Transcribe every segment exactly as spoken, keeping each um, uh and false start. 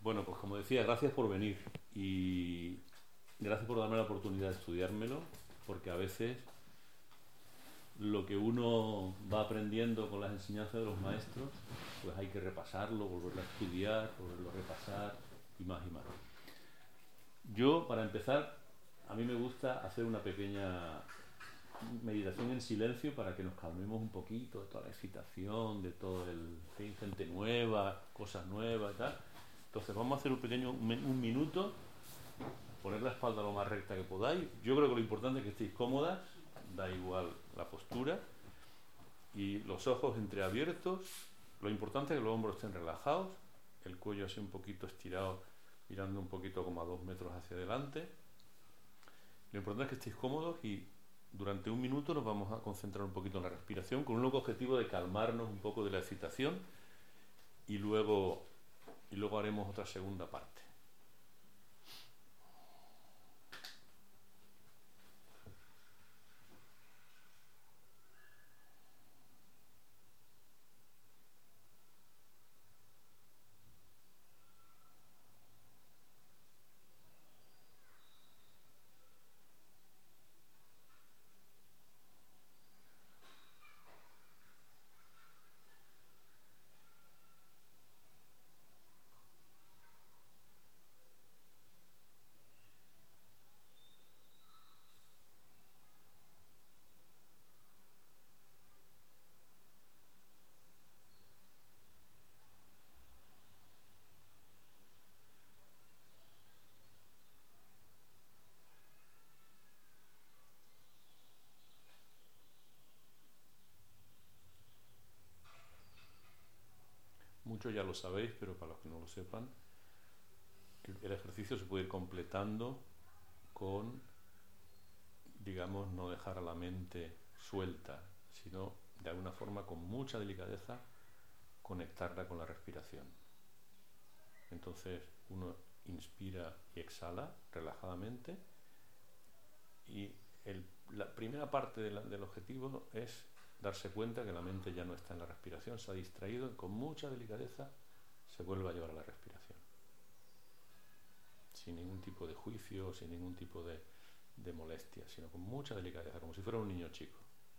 Bueno, pues como decía, gracias por venir y gracias por darme la oportunidad de estudiármelo, porque a veces lo que uno va aprendiendo con las enseñanzas de los maestros, pues hay que repasarlo, volverlo a estudiar, volverlo a repasar y más y más. Yo, para empezar, a mí me gusta hacer una pequeña meditación en silencio para que nos calmemos un poquito de toda la excitación, de todo el... que hay gente nueva, cosas nuevas y tal. Entonces vamos a hacer un pequeño un minuto, poner la espalda lo más recta que podáis. Yo creo que lo importante es que estéis cómodas, da igual la postura, y los ojos entreabiertos. Lo importante es que los hombros estén relajados, el cuello así un poquito estirado, mirando un poquito como a dos metros hacia adelante. Lo importante es que estéis cómodos y durante un minuto nos vamos a concentrar un poquito en la respiración con un único objetivo de calmarnos un poco de la excitación y luego, y luego haremos otra segunda parte. Muchos ya lo sabéis, pero para los que no lo sepan, el ejercicio se puede ir completando con, digamos, no dejar a la mente suelta, sino de alguna forma con mucha delicadeza conectarla con la respiración. Entonces uno inspira y exhala relajadamente y el, la primera parte de la, del objetivo es darse cuenta que la mente ya no está en la respiración, se ha distraído y con mucha delicadeza se vuelve a llevar a la respiración. Sin ningún tipo de juicio, sin ningún tipo de, de molestia, sino con mucha delicadeza, como si fuera un niño chico.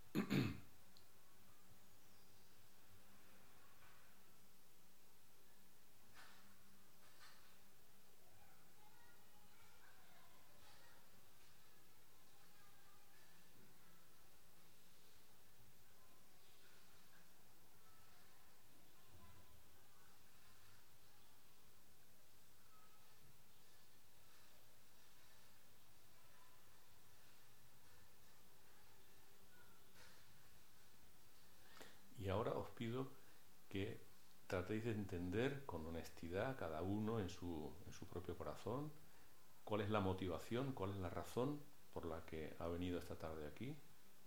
Y ahora os pido que tratéis de entender con honestidad, cada uno en su, en su propio corazón, cuál es la motivación, cuál es la razón por la que ha venido esta tarde aquí.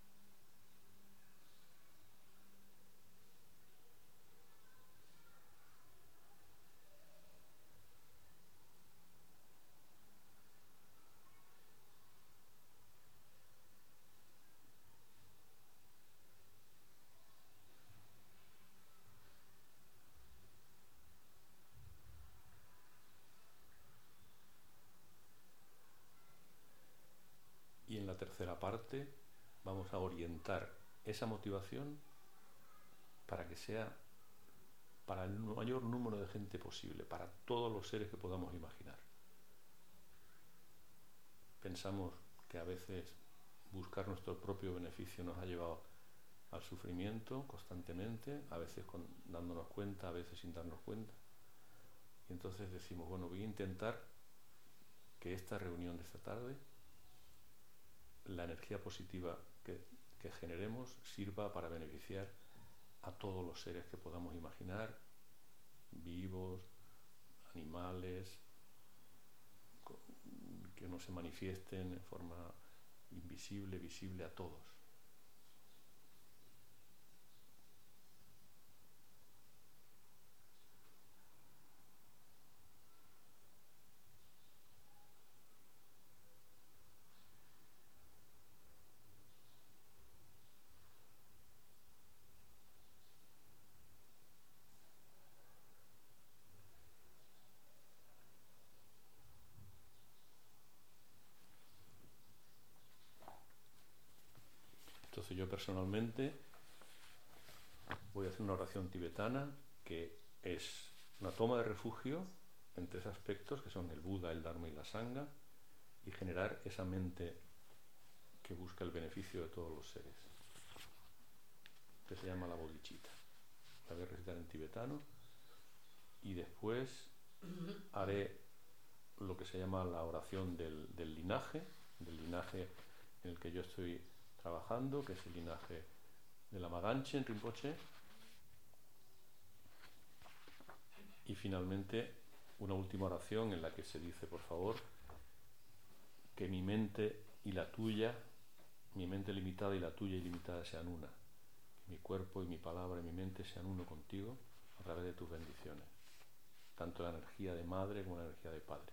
Y en la tercera parte vamos a orientar esa motivación para que sea para el mayor número de gente posible, para todos los seres que podamos imaginar. Pensamos que a veces buscar nuestro propio beneficio nos ha llevado al sufrimiento constantemente, a veces con, dándonos cuenta, a veces sin darnos cuenta. Y entonces decimos, bueno, voy a intentar que esta reunión de esta tarde, la energía positiva que, que generemos sirva para beneficiar a todos los seres que podamos imaginar, vivos, animales, que no se manifiesten en forma invisible, visible a todos. yo personalmente voy a hacer una oración tibetana que es una toma de refugio en tres aspectos, que son el Buda, el Dharma y la Sangha, y generar esa mente que busca el beneficio de todos los seres, que se llama la bodhicitta. La voy a recitar en tibetano y después haré lo que se llama la oración del, del linaje, del linaje en el que yo estoy trabajando, que es el linaje de la Maganchen Rinpoche, y finalmente una última oración en la que se dice, por favor, que mi mente y la tuya, mi mente limitada y la tuya ilimitada sean una, que mi cuerpo y mi palabra y mi mente sean uno contigo a través de tus bendiciones, tanto la energía de madre como la energía de padre.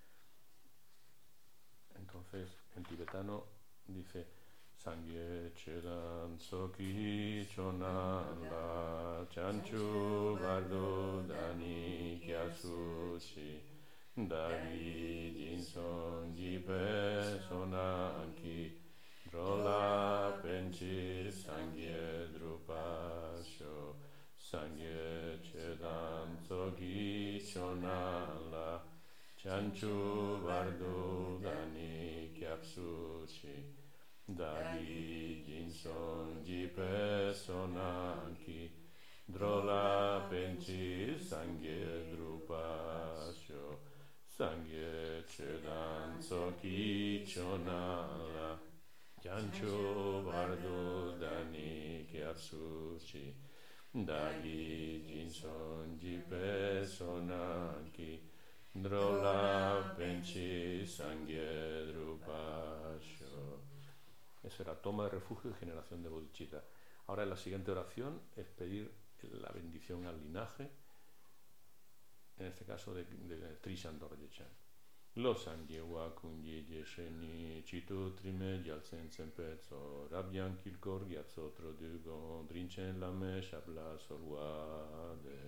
Entonces, en tibetano dice Sangye chedan soki chonan la chanchu bardo dani kyasu chi dagi jinson jipe sonanki drola penchi sangye drupasho Sangye chedan soki chonan la chanchu bardo dani kyasu chi Dagi jinson jipe sonanki drola penchi sangye drupasho sangye chedan soki chonala jancho bardo dani kyatsuchi Dagi jinson jipe sonanki drola penchi sangye drupasho. Eso era toma de refugio y generación de bodhicitta. Ahora en la siguiente oración es pedir la bendición al linaje, en este caso de, de, de Trishan Dorje-chan. Lo sangye wa kunye jesheni chitu trime gyalsen sempetso rabyan kilkor gyatso trodugo drinchen lame shabla solwade.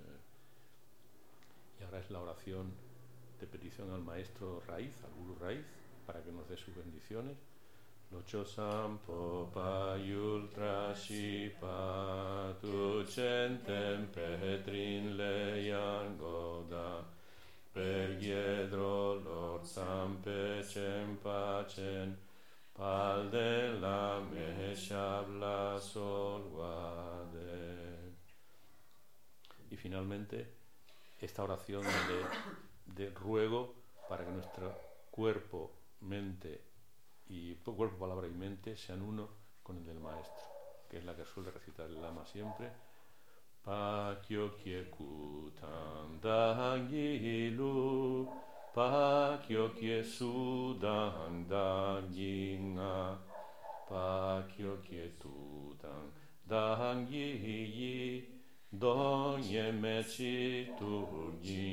Y ahora es la oración de petición al maestro raíz, al guru raíz, para que nos dé sus bendiciones. Locho sampo pa yultra shipa tu centem petrin le yangoda per giedro lor sampe cem pacen palde la me shabla solvade. Y finalmente esta oración de, de ruego para que nuestro cuerpo, mente y cuerpo, palabra y mente sean uno con el del maestro, que es la que suele recitar el lama siempre. Pa kyo kye kutan dangilu, pa kyo kye sudan danginga, pa kyo kye tutan dangiyi, donye mechi tu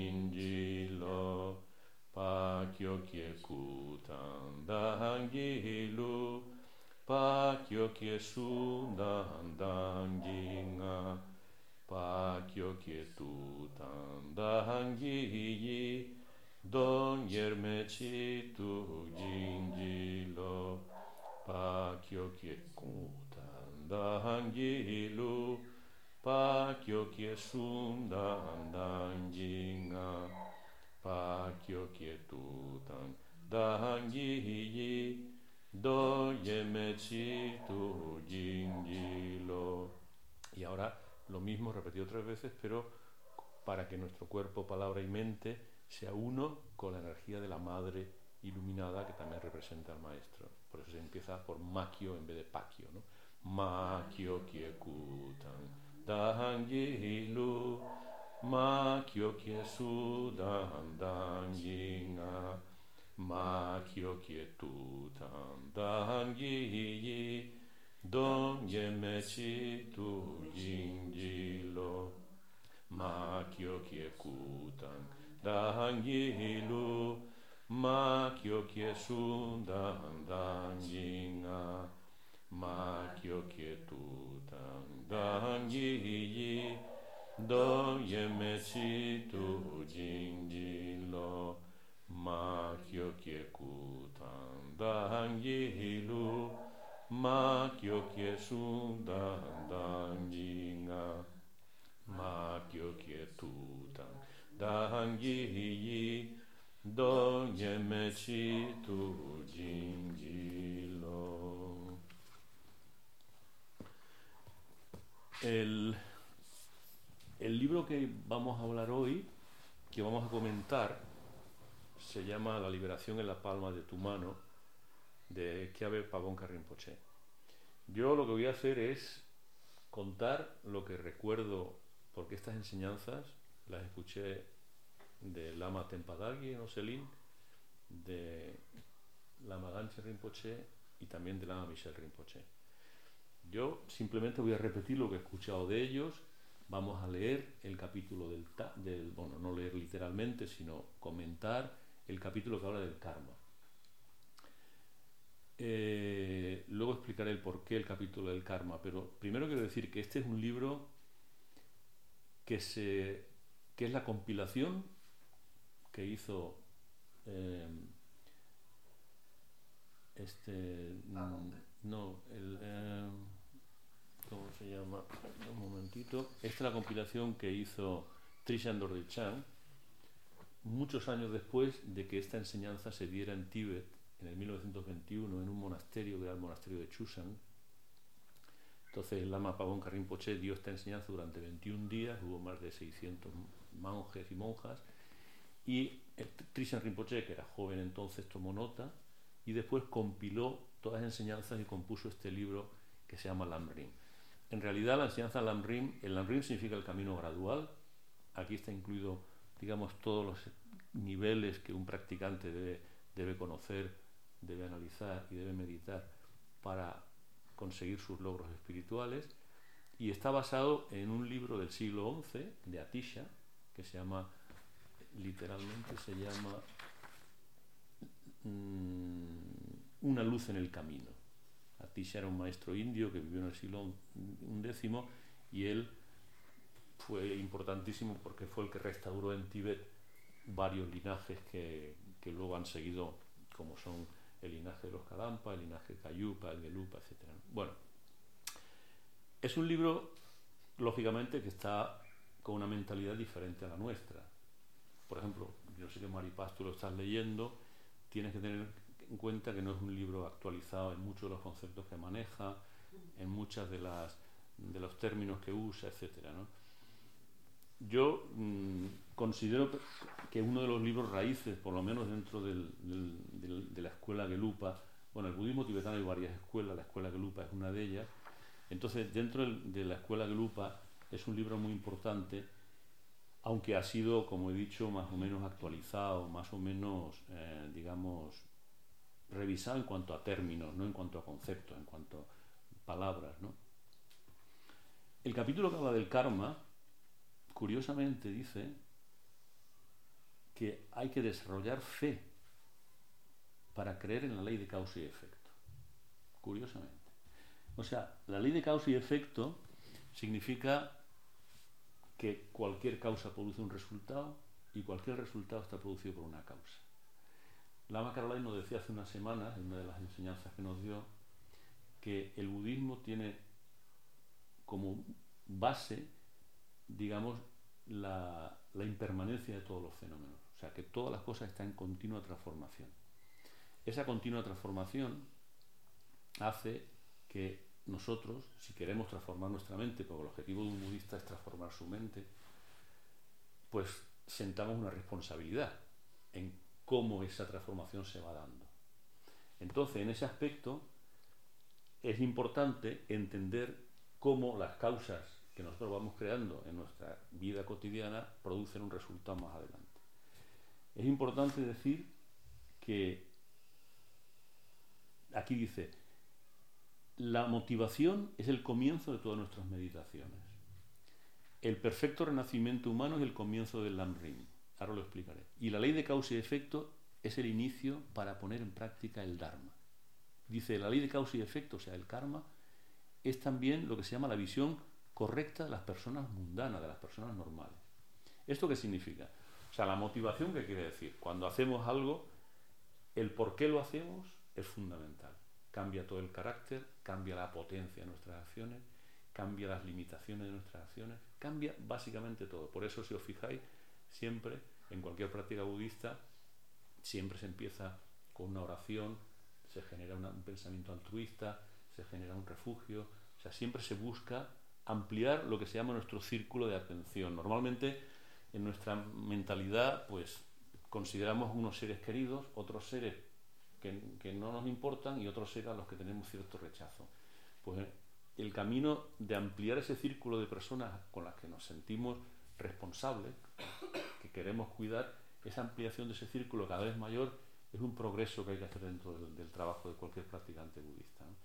ginjilo. Pa kyo kye kutan dangilu, pa kyo kye sudan danginga, pa kyo kye tutan dangiyi, don yermechi tu jinjilo. Pa kyo kye kutan dangilu, pa kyo kye sudan danginga, pa kyo kye tutan dangiyi, do yemechi tu jinjilo. Y ahora lo mismo repetido tres veces, pero para que nuestro cuerpo, palabra y mente sea uno con la energía de la madre iluminada que también representa al maestro. Por eso se empieza por makyo en vez de pakyo, ¿no? Makyo kye kutan dangilu, makyo kye sudan danginga, makyo kye tutan dangiyi, don yemechi tu jinjilo. Makyo kye kutan dangilu, makyo kye sudan danginga, makyo kye tutan dangiyi, do yemechi tu jinjilo. Makyo kye kutan dangilu, ma kyo kye su da dang yi nga, ma kyo kye tu dang dang yi yi, do nye me chi tu jin ji lo. El, el libro que vamos a hablar hoy, que vamos a comentar, se llama La liberación en la palma de tu mano, de Khyabel Pabongka Rinpoche. Yo lo que voy a hacer es contar lo que recuerdo, porque estas enseñanzas las escuché de Lama Tenpa Dalgi en Oselin, de Lama Ganchen Rinpoche y también de Lama Michel Rinpoche. Yo simplemente voy a repetir lo que he escuchado de ellos. Vamos a leer el capítulo del, del bueno, no leer literalmente, sino comentar el capítulo que habla del karma. Eh, luego explicaré el porqué el capítulo del karma, pero primero quiero decir que este es un libro que, se, que es la compilación que hizo eh, este no el eh, ¿cómo se llama? Un momentito. Esta es la compilación que hizo Trishan Dorje-Chang muchos años después de que esta enseñanza se diera en Tíbet en el mil novecientos veintiuno en un monasterio que era el monasterio de Chusan. Entonces el Lama Pabongka Rinpoche dio esta enseñanza durante veintiún días, hubo más de seiscientos monjes y monjas, y Trishan Rinpoche, que era joven entonces, tomó nota y después compiló todas las enseñanzas y compuso este libro que se llama Lamrim. En realidad la enseñanza Lamrim, el Lamrim significa el camino gradual. Aquí está incluido, digamos, todos los niveles que un practicante debe, debe conocer, debe analizar y debe meditar para conseguir sus logros espirituales, y está basado en un libro del siglo once de Atisha que se llama, literalmente se llama mmm, Una luz en el camino. Atisha era un maestro indio que vivió en el siglo undécimo y él fue importantísimo porque fue el que restauró en Tíbet varios linajes que, que luego han seguido, como son el linaje de los Kadampa, el linaje de Kayupa, el Gelupa, etcétera. Bueno, es un libro, lógicamente, que está con una mentalidad diferente a la nuestra. Por ejemplo, yo sé que Maripaz, tú lo estás leyendo, tienes que tener en cuenta que no es un libro actualizado en muchos de los conceptos que maneja, en muchas de las de los términos que usa, etcétera, ¿no? Yo mmm, considero que uno de los libros raíces, por lo menos dentro del, del, del, de la escuela Gelupa, bueno, el budismo tibetano hay varias escuelas, la escuela Gelupa es una de ellas, entonces dentro del, de la escuela Gelupa es un libro muy importante, aunque ha sido, como he dicho, más o menos actualizado, más o menos, eh, digamos, revisado en cuanto a términos, no en cuanto a conceptos, en cuanto a palabras, ¿no? El capítulo que habla del karma, curiosamente dice que hay que desarrollar fe para creer en la ley de causa y efecto. Curiosamente. O sea, la ley de causa y efecto significa que cualquier causa produce un resultado y cualquier resultado está producido por una causa. Lama Caroline nos decía hace unas semanas, en una de las enseñanzas que nos dio, que el budismo tiene como base, digamos, la, la impermanencia de todos los fenómenos. O sea, que todas las cosas están en continua transformación. Esa continua transformación hace que nosotros, si queremos transformar nuestra mente, porque el objetivo de un budista es transformar su mente, pues sentamos una responsabilidad en cómo esa transformación se va dando. Entonces, en ese aspecto, es importante entender cómo las causas que nosotros vamos creando en nuestra vida cotidiana producen un resultado más adelante. Es importante decir que aquí dice, la motivación es el comienzo de todas nuestras meditaciones. El perfecto renacimiento humano es el comienzo del Lamrim. Ahora lo explicaré. Y la ley de causa y efecto es el inicio para poner en práctica el Dharma. Dice, la ley de causa y efecto, o sea, el karma, es también lo que se llama la visión correcta de las personas mundanas, de las personas normales. ¿Esto qué significa? O sea, la motivación, ¿qué quiere decir? Cuando hacemos algo, el por qué lo hacemos es fundamental. cambia todo el carácter, cambia la potencia de nuestras acciones, cambia las limitaciones de nuestras acciones, cambia básicamente todo. Por eso, si os fijáis, siempre, en cualquier práctica budista, siempre se empieza con una oración, se genera una, un pensamiento altruista, se genera un refugio, o sea, siempre se busca ampliar lo que se llama nuestro círculo de atención. Normalmente, en nuestra mentalidad, pues, consideramos unos seres queridos, otros seres que, que no nos importan y otros seres a los que tenemos cierto rechazo. Pues el camino de ampliar ese círculo de personas con las que nos sentimos responsables, que queremos cuidar, esa ampliación de ese círculo cada vez mayor es un progreso que hay que hacer dentro del, del trabajo de cualquier practicante budista, ¿no?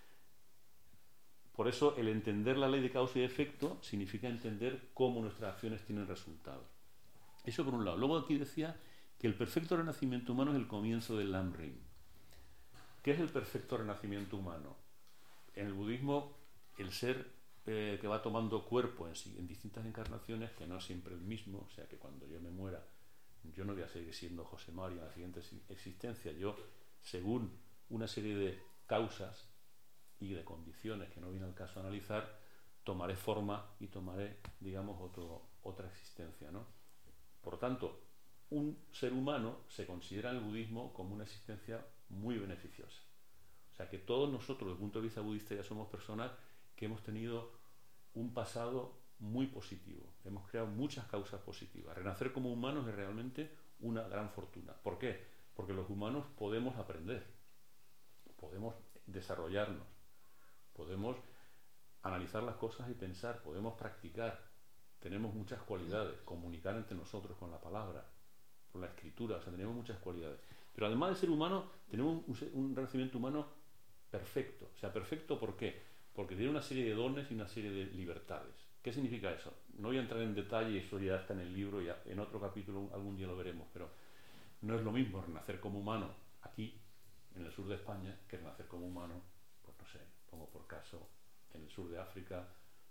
Por eso el entender la ley de causa y efecto significa entender cómo nuestras acciones tienen resultados. Eso por un lado. Luego aquí decía que el perfecto renacimiento humano es el comienzo del Lam Rim. ¿Qué es el perfecto renacimiento humano? En el budismo, el ser eh, que va tomando cuerpo en, en distintas encarnaciones, que no es siempre el mismo, o sea que cuando yo me muera, yo no voy a seguir siendo José Mario en la siguiente existencia. Yo, según una serie de causas y de condiciones que no viene al caso analizar, tomaré forma y tomaré, digamos, otro, otra existencia, ¿no? Por tanto, un ser humano se considera en el budismo como una existencia muy beneficiosa. O sea que todos nosotros, desde el punto de vista budista, ya somos personas que hemos tenido un pasado muy positivo. Hemos creado muchas causas positivas. Renacer como humanos es realmente una gran fortuna. ¿Por qué? Porque los humanos podemos aprender, podemos desarrollarnos, podemos analizar las cosas y pensar, podemos practicar, tenemos muchas cualidades, comunicar entre nosotros con la palabra, con la escritura, o sea, tenemos muchas cualidades. Pero además de ser humano, tenemos un, un renacimiento humano perfecto. O sea, perfecto ¿por qué? Porque tiene una serie de dones y una serie de libertades. ¿Qué significa eso? No voy a entrar en detalle, eso ya está en el libro, ya en otro capítulo algún día lo veremos, pero no es lo mismo renacer como humano aquí, en el sur de España, que renacer como humano, pues no sé, pongo por caso, en el sur de África,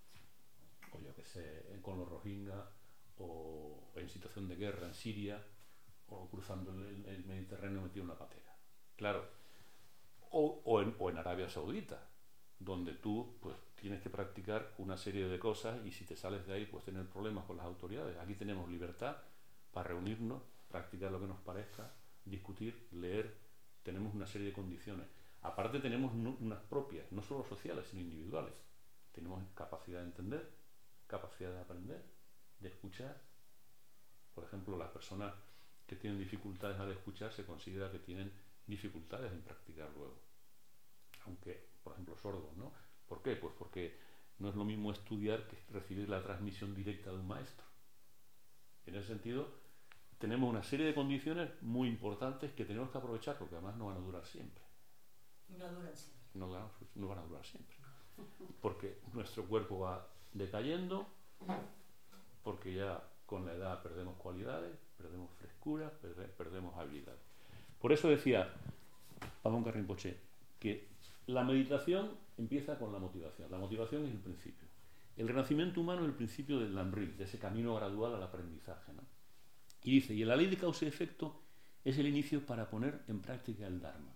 o yo que sé, con los Rohingya, o en situación de guerra en Siria, o cruzando el, el Mediterráneo metido en una patera. Claro, o, o, en, o en Arabia Saudita, donde tú pues tienes que practicar una serie de cosas y si te sales de ahí pues tener problemas con las autoridades. Aquí tenemos libertad para reunirnos, practicar lo que nos parezca, discutir, leer, tenemos una serie de condiciones. Aparte tenemos no, unas propias, no solo sociales, sino individuales. Tenemos capacidad de entender, capacidad de aprender, de escuchar. Por ejemplo, las personas que tienen dificultades al escuchar se considera que tienen dificultades en practicar luego. Aunque, por ejemplo, sordos, ¿no? ¿Por qué? Pues porque no es lo mismo estudiar que recibir la transmisión directa de un maestro. En ese sentido, tenemos una serie de condiciones muy importantes que tenemos que aprovechar porque además no van a durar siempre. No duran siempre. No, no van a durar siempre. Porque nuestro cuerpo va decayendo, porque ya con la edad perdemos cualidades, perdemos frescura, perdemos habilidades. Por eso decía Pagonga Rinpoche que la meditación empieza con la motivación. La motivación es el principio. El renacimiento humano es el principio del Lam Rim, de ese camino gradual al aprendizaje, ¿no? Y dice, y la ley de causa y efecto es el inicio para poner en práctica el Dharma.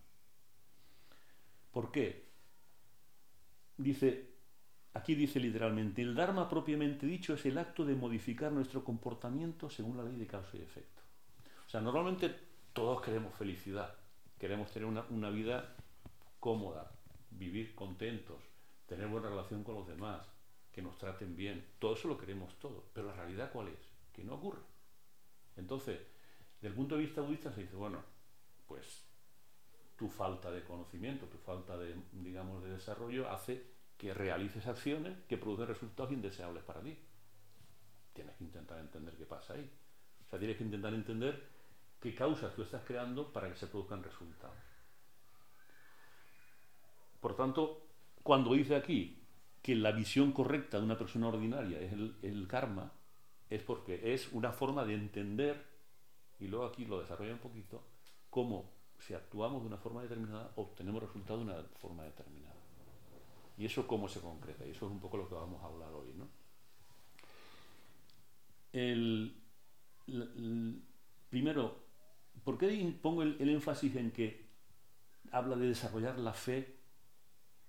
¿Por qué? Dice, aquí dice literalmente, el Dharma propiamente dicho es el acto de modificar nuestro comportamiento según la ley de causa y efecto. O sea, normalmente todos queremos felicidad, queremos tener una, una vida cómoda, vivir contentos, tener buena relación con los demás, que nos traten bien. Todo eso lo queremos todos, pero la realidad ¿cuál es? Que no ocurre. Entonces, desde el punto de vista budista se dice, bueno, pues tu falta de conocimiento, tu falta de, digamos, de desarrollo hace que realices acciones que producen resultados indeseables para ti. Tienes que intentar entender qué pasa ahí. O sea, tienes que intentar entender qué causas tú estás creando para que se produzcan resultados. Por tanto, cuando dice aquí que la visión correcta de una persona ordinaria es el, el karma, es porque es una forma de entender, y luego aquí lo desarrolla un poquito, cómo si actuamos de una forma determinada obtenemos resultados de una forma determinada. Y eso cómo se concreta, y eso es un poco lo que vamos a hablar hoy, ¿no? El, el, el, primero, ¿por qué pongo el, el énfasis en que habla de desarrollar la fe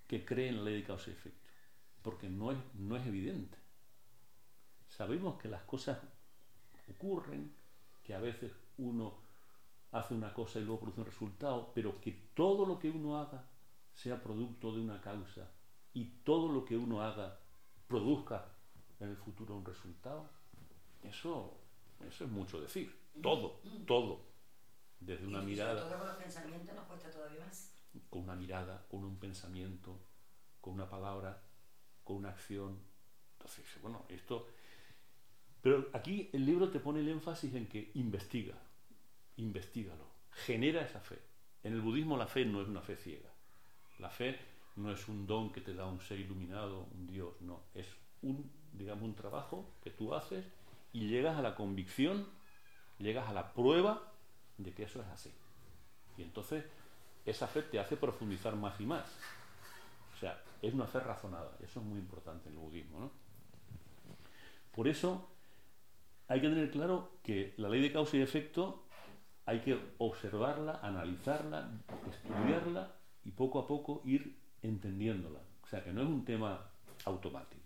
que cree en la ley de causa y efecto, porque no es, no es evidente. Sabemos que las cosas ocurren, que a veces uno hace una cosa y luego produce un resultado, pero que todo lo que uno haga sea producto de una causa y todo lo que uno haga produzca en el futuro un resultado, eso, eso es mucho decir. Todo, todo. Desde una y mirada... sobre todo con los pensamientos nos cuesta todavía más. Con una mirada, con un pensamiento, con una palabra, con una acción. Entonces, bueno, esto... Pero aquí el libro te pone el énfasis en que investiga, investígalo, genera esa fe. En el budismo la fe no es una fe ciega. La fe no es un don que te da un ser iluminado, un Dios, no. Es un, digamos, un trabajo que tú haces y llegas a la convicción, llegas a la prueba de que eso es así. Y entonces esa fe te hace profundizar más y más. O sea, es una fe razonada. Eso es muy importante en el budismo, ¿no? Por eso hay que tener claro que la ley de causa y efecto hay que observarla, analizarla, estudiarla y poco a poco ir entendiéndola. O sea, que no es un tema automático.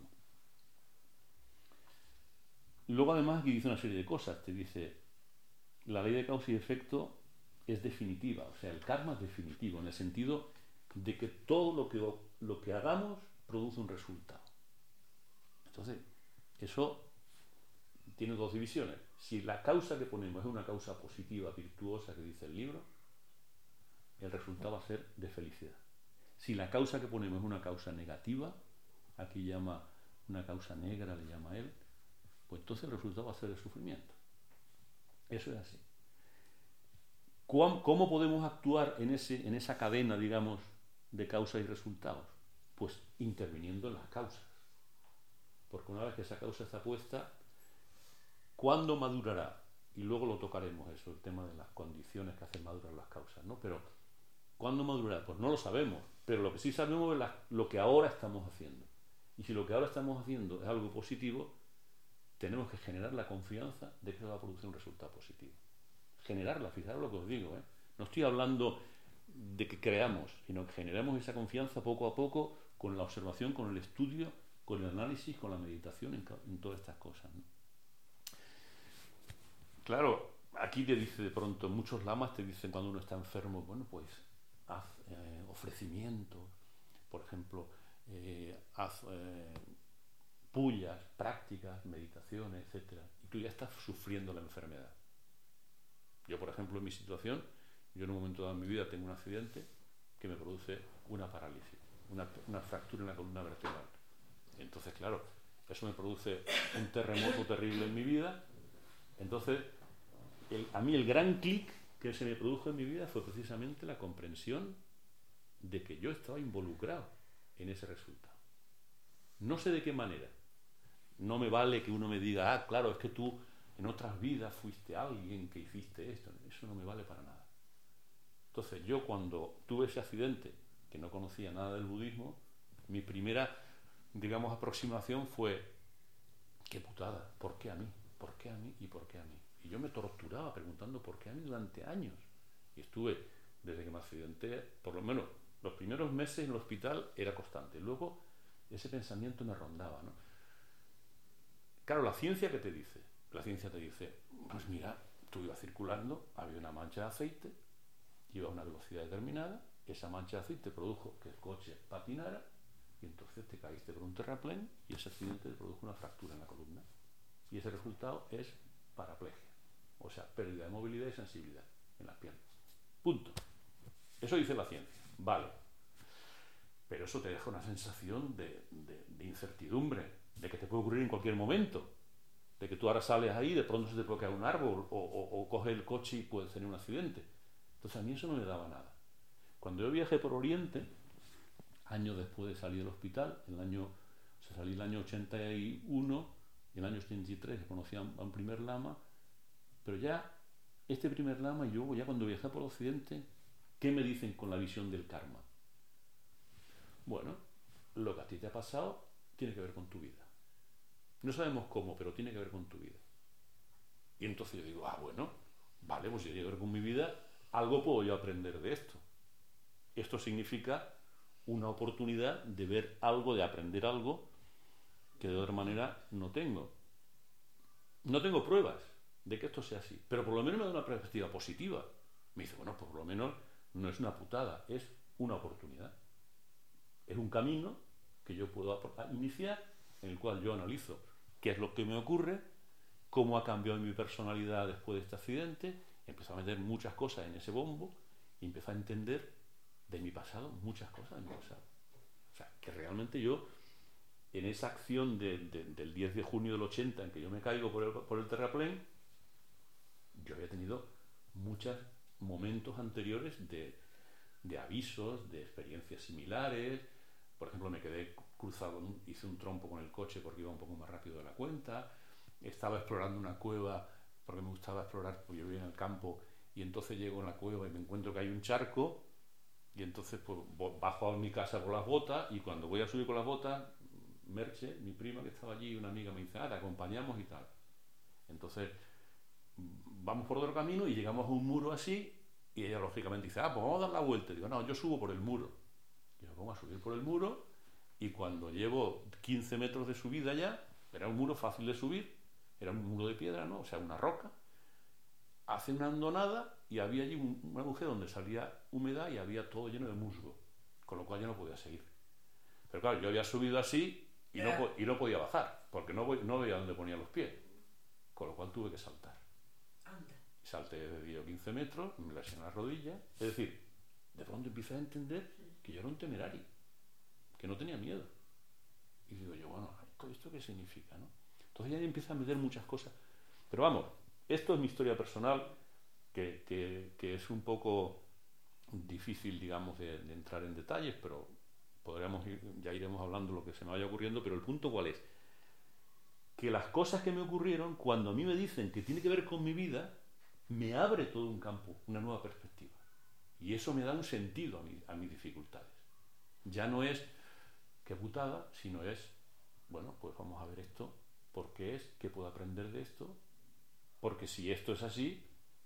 Luego además aquí dice una serie de cosas. Te dice, la ley de causa y efecto es definitiva. O sea, el karma es definitivo en el sentido de que todo lo que, lo que hagamos produce un resultado. Entonces, eso tiene dos divisiones. Si la causa que ponemos es una causa positiva, virtuosa, que dice el libro, el resultado va a ser de felicidad. Si la causa que ponemos es una causa negativa, aquí llama una causa negra, le llama él, pues entonces el resultado va a ser de sufrimiento. Eso es así. ¿Cómo podemos actuar en, ese, en esa cadena, digamos, de causas y resultados? Pues interviniendo en las causas. Porque una vez que esa causa está puesta, ¿cuándo madurará? Y luego lo tocaremos, eso, el tema de las condiciones que hacen madurar las causas, ¿no? Pero, ¿cuándo madurará? Pues no lo sabemos, pero lo que sí sabemos es la, lo que ahora estamos haciendo. Y si lo que ahora estamos haciendo es algo positivo, tenemos que generar la confianza de que eso va a producir un resultado positivo. Generarla, fijaros lo que os digo, ¿eh? No estoy hablando de que creamos, sino que generemos esa confianza poco a poco con la observación, con el estudio, con el análisis, con la meditación, en, en todas estas cosas, ¿no? Claro, aquí te dice de pronto, muchos lamas te dicen cuando uno está enfermo, bueno, pues haz eh, ofrecimientos, por ejemplo, eh, haz eh, pullas, prácticas, meditaciones, etcétera, y tú ya estás sufriendo la enfermedad. Yo, por ejemplo, en mi situación, yo en un momento dado en mi vida tengo un accidente que me produce una parálisis, una, una fractura en la columna vertebral. Entonces, claro, eso me produce un terremoto terrible en mi vida. Entonces, el, a mí el gran clic que se me produjo en mi vida fue precisamente la comprensión de que yo estaba involucrado en ese resultado. No sé de qué manera. No me vale que uno me diga, ah, claro, es que tú en otras vidas fuiste alguien que hiciste esto. Eso no me vale para nada. Entonces, yo cuando tuve ese accidente, que no conocía nada del budismo, mi primera, digamos, aproximación fue, qué putada, ¿por qué a mí? ¿Por qué a mí? ¿Y por qué a mí? Y yo me torturaba preguntando por qué a mí durante años. Y estuve, desde que me accidenté, por lo menos los primeros meses en el hospital era constante. Luego ese pensamiento me rondaba, ¿no? Claro, la ciencia, ¿qué te dice? La ciencia te dice, pues mira, tú ibas circulando, había una mancha de aceite, iba a una velocidad determinada, esa mancha de aceite produjo que el coche patinara, y entonces te caíste por un terraplén y ese accidente te produjo una fractura en la columna. Y ese resultado es paraplegia, o sea, pérdida de movilidad y sensibilidad en las piernas. Punto. Eso dice la ciencia, vale. Pero eso te deja una sensación de, de, de incertidumbre, de que te puede ocurrir en cualquier momento, de que tú ahora sales ahí y de pronto se te puede caer un árbol o, o, o coges el coche y puedes tener un accidente. Entonces a mí eso no me daba nada. Cuando yo viajé por Oriente, años después de salir del hospital, en el año, o sea, salí en el año ochenta y uno, y en el año ochenta y tres conocí a un, a un primer lama, pero ya este primer lama y yo ya cuando viajé por Occidente, ¿qué me dicen con la visión del karma? Bueno, lo que a ti te ha pasado tiene que ver con tu vida. No sabemos cómo, pero tiene que ver con tu vida. Y entonces yo digo, ah, bueno, vale, pues si tiene que ver con mi vida, algo puedo yo aprender de esto. Esto significa una oportunidad de ver algo, de aprender algo que de otra manera no tengo. No tengo pruebas de que esto sea así, pero por lo menos me da una perspectiva positiva. Me dice, bueno, pues por lo menos no es una putada, es una oportunidad. Es un camino que yo puedo iniciar, en el cual yo analizo qué es lo que me ocurre, cómo ha cambiado mi personalidad después de este accidente, empiezo a meter muchas cosas en ese bombo y empiezo a entender de mi pasado muchas cosas de mi pasado. O sea, que realmente yo, en esa acción de, de, del diez de junio del ochenta, en que yo me caigo por el, por el terraplén, yo había tenido muchos momentos anteriores de, de avisos, de experiencias similares. Por ejemplo, me quedé cruzado, hice un trompo con el coche porque iba un poco más rápido de la cuenta. Estaba explorando una cueva porque me gustaba explorar, porque yo vivía en el campo, y entonces llego a la cueva y me encuentro que hay un charco, y entonces pues bajo a mi casa con las botas, y cuando voy a subir con las botas, Merche, mi prima que estaba allí, una amiga me dice, ah, te acompañamos y tal. Entonces vamos por otro camino y llegamos a un muro así, y ella lógicamente dice, ah, pues vamos a dar la vuelta. Y digo, no, yo subo por el muro. Y me pongo a subir por el muro, y cuando llevo quince metros de subida ya, era un muro fácil de subir, era un muro de piedra, ¿no? O sea, una roca, hace una hondonada y había allí un, un agujero donde salía humedad y había todo lleno de musgo, con lo cual yo no podía seguir. Pero claro, yo había subido así y no, y no podía bajar, porque no, voy, no veía dónde ponía los pies, con lo cual tuve que saltar. Anda. Salté de diez o quince metros, me lesioné las rodillas, es decir, de pronto empiezo a entender que yo era un temerario, que no tenía miedo. Y digo yo, bueno, ¿esto, esto qué significa, no? Entonces ya empieza a meter muchas cosas. Pero vamos, esto es mi historia personal, que, que, que es un poco difícil, digamos, de, de entrar en detalles, pero podríamos ir, ya iremos hablando de lo que se me vaya ocurriendo. Pero el punto, ¿cuál es? Que las cosas que me ocurrieron, cuando a mí me dicen que tiene que ver con mi vida, me abre todo un campo, una nueva perspectiva. Y eso me da un sentido a, mi, a mis dificultades. Ya no es qué putada, sino es, bueno, pues vamos a ver esto, por qué es, qué puedo aprender de esto, porque si esto es así,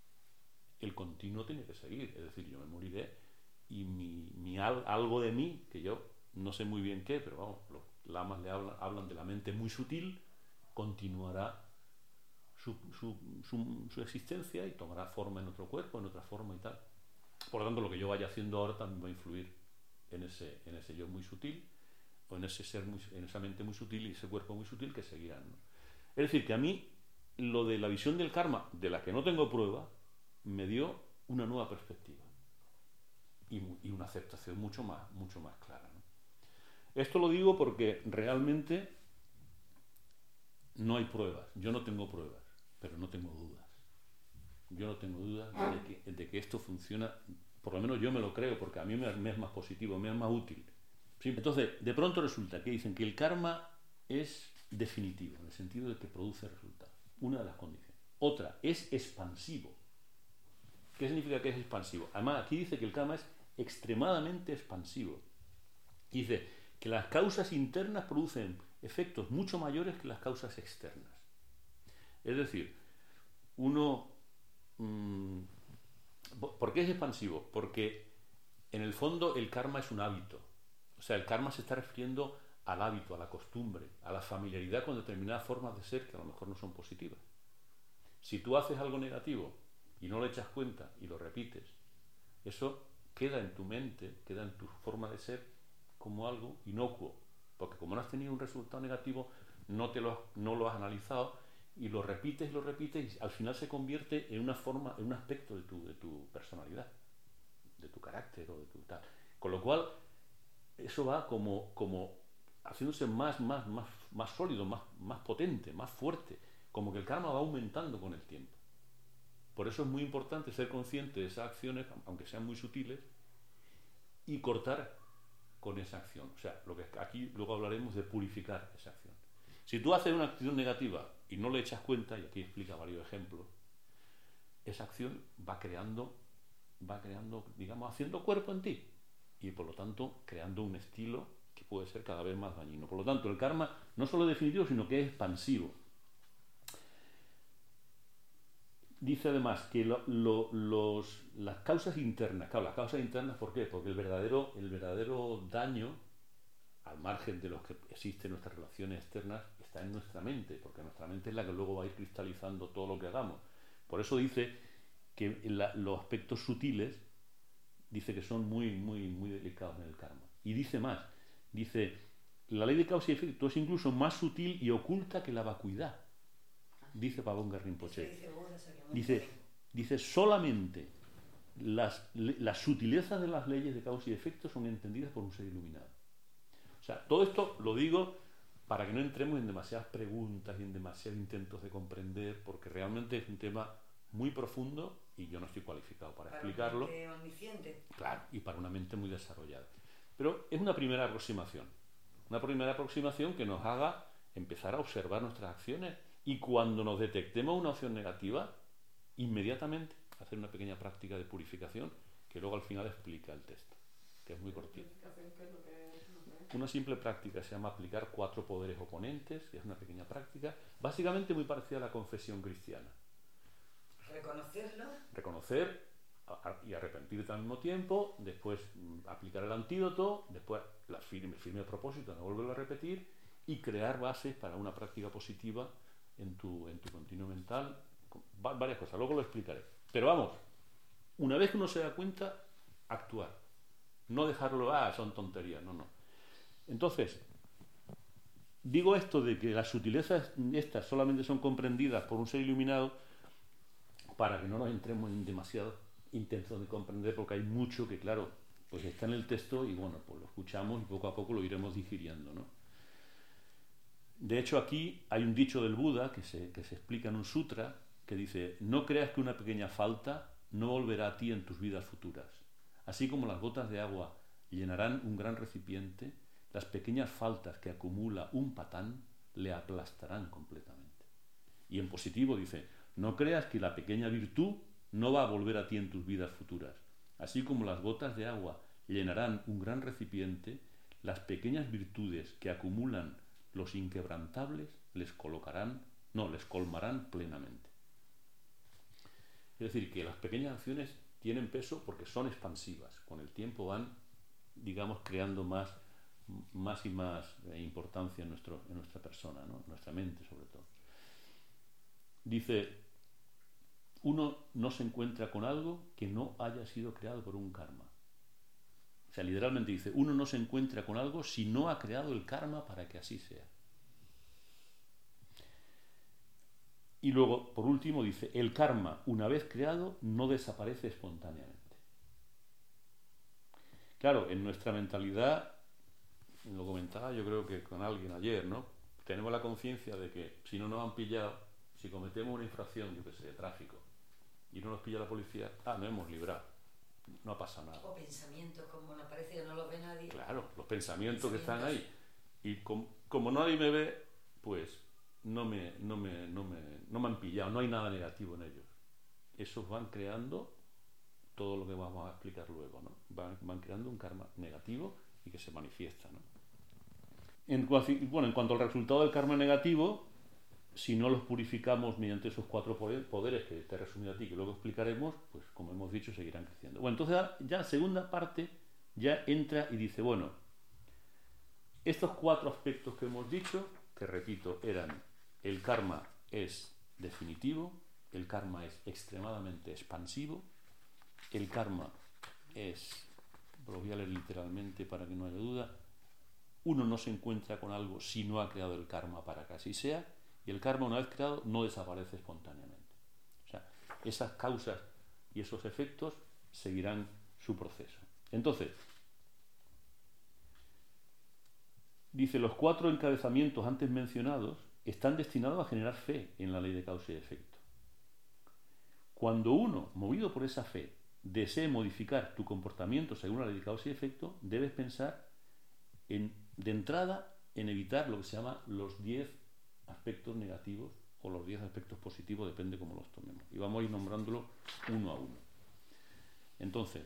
el continuo tiene que seguir. Es decir, yo me moriré y mi, mi al, algo de mí, que yo no sé muy bien qué, pero vamos, los lamas le hablan, hablan de la mente muy sutil, continuará su, su, su, su existencia y tomará forma en otro cuerpo, en otra forma y tal. Por lo tanto, lo que yo vaya haciendo ahora también va a influir en ese, en ese yo muy sutil, o en ese ser muy, en esa mente muy sutil y ese cuerpo muy sutil que seguirán, ¿no? Es decir, que a mí lo de la visión del karma, de la que no tengo prueba, me dio una nueva perspectiva y, y una aceptación mucho más, mucho más clara, ¿no? Esto lo digo porque realmente no hay pruebas. Yo no tengo pruebas, pero no tengo dudas. Yo no tengo dudas de que, de que esto funciona, por lo menos yo me lo creo, porque a mí me, me es más positivo, me es más útil. ¿Sí? Entonces, de pronto resulta que dicen que el karma es definitivo, en el sentido de que produce resultados. Una de las condiciones. Otra, es expansivo. ¿Qué significa que es expansivo? Además, aquí dice que el karma es extremadamente expansivo. Dice que las causas internas producen efectos mucho mayores que las causas externas. Es decir, uno... Mmm, ¿por qué es expansivo? Porque en el fondo el karma es un hábito. O sea, el karma se está refiriendo al hábito, a la costumbre, a la familiaridad con determinadas formas de ser que a lo mejor no son positivas. Si tú haces algo negativo y no le echas cuenta y lo repites, eso queda en tu mente, queda en tu forma de ser como algo inocuo, porque como no has tenido un resultado negativo, no, te lo has, no lo has analizado y lo repites y lo repites y al final se convierte en una forma, en un aspecto de tu, de tu personalidad, de tu carácter o de tu tal. Con lo cual, eso va como, como haciéndose más, más, más, más sólido, más, más potente, más fuerte, como que el karma va aumentando con el tiempo. Por eso es muy importante ser consciente de esas acciones, aunque sean muy sutiles, y cortar con esa acción. O sea, lo que aquí luego hablaremos de purificar esa acción. Si tú haces una acción negativa y no le echas cuenta, y aquí explica varios ejemplos, esa acción va creando, va creando, digamos, haciendo cuerpo en ti, y por lo tanto creando un estilo que puede ser cada vez más dañino. Por lo tanto, el karma no solo es definitivo, sino que es expansivo. dice además que lo, lo, los, las causas internas, claro, las causas internas, ¿por qué? Porque el verdadero, el verdadero daño, al margen de los que existen nuestras relaciones externas, está en nuestra mente, porque nuestra mente es la que luego va a ir cristalizando todo lo que hagamos. Por eso dice que la, los aspectos sutiles, dice que son muy, muy, muy delicados en el karma. Y dice más, dice, la ley de causa y efecto es incluso más sutil y oculta que la vacuidad, dice Pabón Rinpoche. Dice, dice, solamente las, las sutilezas de las leyes de causa y efecto son entendidas por un ser iluminado. O sea, todo esto lo digo para que no entremos en demasiadas preguntas y en demasiados intentos de comprender, porque realmente es un tema muy profundo y yo no estoy cualificado para, para explicarlo. Para una mente omnisciente. Claro, y para una mente muy desarrollada. Pero es una primera aproximación. Una primera aproximación que nos haga empezar a observar nuestras acciones y cuando nos detectemos una opción negativa, inmediatamente hacer una pequeña práctica de purificación que luego al final explica el texto, que es muy cortito. Una simple práctica se llama aplicar cuatro poderes oponentes, que es una pequeña práctica, básicamente muy parecida a la confesión cristiana. Reconocerlo. Reconocer y arrepentirte al mismo tiempo, después aplicar el antídoto, después la firme, firme propósito, no volverlo a repetir y crear bases para una práctica positiva en tu, en tu continuo mental, varias cosas, luego lo explicaré. Pero vamos, una vez que uno se da cuenta, actuar. No dejarlo, ah, son tonterías, no, no. Entonces, digo esto de que las sutilezas estas solamente son comprendidas por un ser iluminado para que no nos entremos en demasiados intentos de comprender, porque hay mucho que, claro, pues está en el texto y bueno, pues lo escuchamos y poco a poco lo iremos digiriendo, ¿no? De hecho, aquí hay un dicho del Buda que se, que se explica en un sutra que dice: no creas que una pequeña falta no volverá a ti en tus vidas futuras. Así como las gotas de agua llenarán un gran recipiente, las pequeñas faltas que acumula un patán le aplastarán completamente. Y en positivo dice: no creas que la pequeña virtud no va a volver a ti en tus vidas futuras. Así como las gotas de agua llenarán un gran recipiente, las pequeñas virtudes que acumulan los inquebrantables les colocarán, no, les colmarán plenamente. Es decir, que las pequeñas acciones tienen peso porque son expansivas. Con el tiempo van, digamos, creando más, más y más importancia en, nuestro, en nuestra persona, ¿no? En nuestra mente sobre todo. Dice, uno no se encuentra con algo que no haya sido creado por un karma. O sea, literalmente dice, uno no se encuentra con algo si no ha creado el karma para que así sea. Y luego, por último, dice, el karma, una vez creado, no desaparece espontáneamente. Claro, en nuestra mentalidad, lo comentaba yo creo que con alguien ayer, ¿no? Tenemos la conciencia de que si no nos han pillado, si cometemos una infracción, yo qué sé, de tráfico, y no nos pilla la policía, ah, nos hemos librado, no ha pasado nada. O pensamientos como no parece que no los ve nadie. Claro, los pensamientos, pensamientos. que están ahí. Y com, como nadie me ve, pues no me, no, me, no, me, no me han pillado, no hay nada negativo en ellos. Esos van creando todo lo que vamos a explicar luego, ¿no? Van, van creando un karma negativo y que se manifiesta, ¿no? En, bueno, en cuanto al resultado del karma negativo, si no los purificamos mediante esos cuatro poderes que te he resumido a ti, que luego explicaremos, pues como hemos dicho, seguirán creciendo. Bueno, entonces ya segunda parte ya entra y dice, bueno, estos cuatro aspectos que hemos dicho, que repito, eran el karma es definitivo, el karma es extremadamente expansivo, el karma es, lo voy a leer literalmente para que no haya duda, uno no se encuentra con algo si no ha creado el karma para que así sea, y el karma, una vez creado, no desaparece espontáneamente. O sea, esas causas y esos efectos seguirán su proceso. Entonces, dice, los cuatro encabezamientos antes mencionados están destinados a generar fe en la ley de causa y efecto. Cuando uno, movido por esa fe, desee modificar tu comportamiento según la ley de causa y efecto, debes pensar en, de entrada en evitar lo que se llama los diez aspectos negativos o los diez aspectos positivos, depende cómo los tomemos. Y vamos a ir nombrándolo uno a uno. Entonces,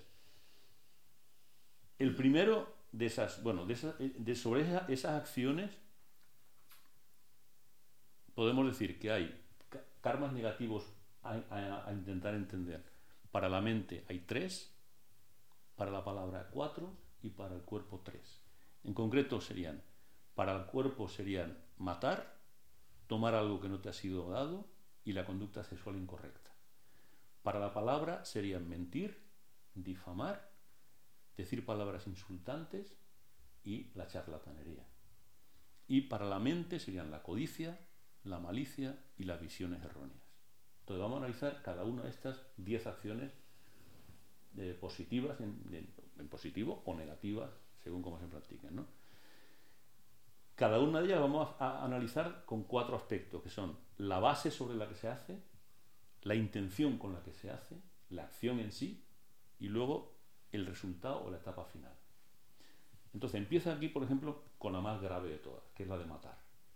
el primero de esas, bueno, de esas, de sobre esa, esas acciones, podemos decir que hay karmas negativos a, a, a intentar entender. Para la mente hay tres, para la palabra cuatro y para el cuerpo tres. En concreto serían, para el cuerpo serían matar, tomar algo que no te ha sido dado y la conducta sexual incorrecta. Para la palabra serían mentir, difamar, decir palabras insultantes y la charlatanería. Y para la mente serían la codicia, la malicia y las visiones erróneas. Entonces vamos a analizar cada una de estas diez acciones eh, positivas, en, en, en positivo o negativas, según cómo se practiquen, ¿no? Cada una de ellas vamos a, a analizar con cuatro aspectos, que son la base sobre la que se hace, la intención con la que se hace, la acción en sí y luego el resultado o la etapa final. Entonces empieza aquí, por ejemplo, con la más grave de todas, que es la de matar.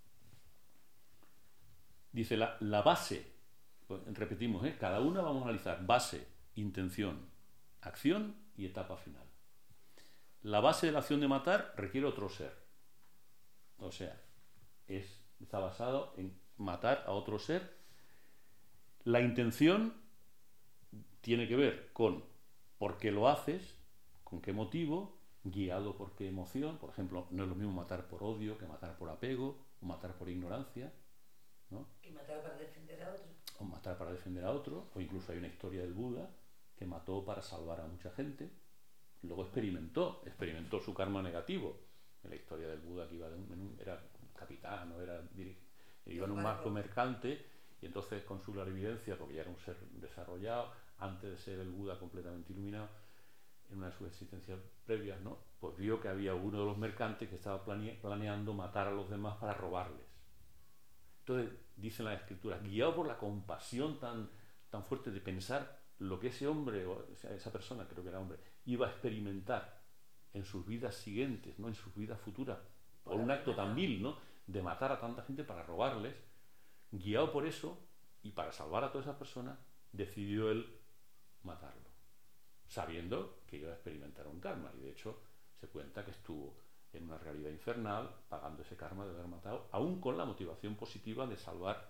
Dice la, la base, pues, repetimos, ¿eh? Cada una vamos a analizar base, intención, acción y etapa final. La base de la acción de matar requiere otro ser. O sea, es, está basado en matar a otro ser. La intención tiene que ver con por qué lo haces, con qué motivo, guiado por qué emoción. Por ejemplo, no es lo mismo matar por odio que matar por apego o matar por ignorancia, ¿no? Y matar para defender a otro. O matar para defender a otro, o incluso hay una historia del Buda que mató para salvar a mucha gente. Luego experimentó, experimentó su karma negativo. En la historia del Buda, que iba de un, en un, era capitán, o era iba en un barco mercante, y entonces con su clarividencia, porque ya era un ser desarrollado, antes de ser el Buda completamente iluminado, en una de sus existencias previas, ¿no? Pues vio que había uno de los mercantes que estaba plane, planeando matar a los demás para robarles. Entonces, dicen las escrituras, guiado por la compasión tan, tan fuerte de pensar lo que ese hombre, o sea, esa persona, creo que era hombre, iba a experimentar en sus vidas siguientes, ¿no? En sus vidas futuras, por un acto tan vil, ¿no? De matar a tanta gente para robarles, guiado por eso y para salvar a todas esas personas, decidió él matarlo, sabiendo que iba a experimentar un karma. Y de hecho se cuenta que estuvo en una realidad infernal pagando ese karma de haber matado, aún con la motivación positiva de salvar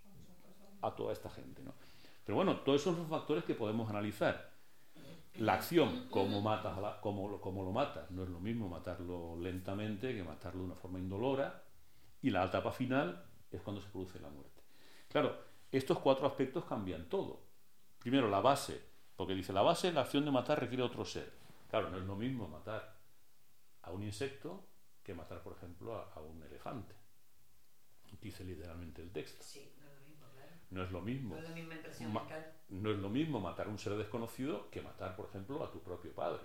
a toda esta gente, ¿no? Pero bueno, todos esos son los factores que podemos analizar. La acción, cómo matas a la, cómo, lo, cómo lo matas, no es lo mismo matarlo lentamente que matarlo de una forma indolora, y la etapa final es cuando se produce la muerte. Claro, estos cuatro aspectos cambian todo. Primero, la base, porque dice la base, la acción de matar requiere otro ser. Claro, no es lo mismo matar a un insecto que matar, por ejemplo, a, a un elefante. Dice literalmente el texto. Sí, no es lo mismo, claro. No es lo mismo. No es la misma impresión Ma- mental. no es lo mismo matar a un ser desconocido que matar, por ejemplo, a tu propio padre.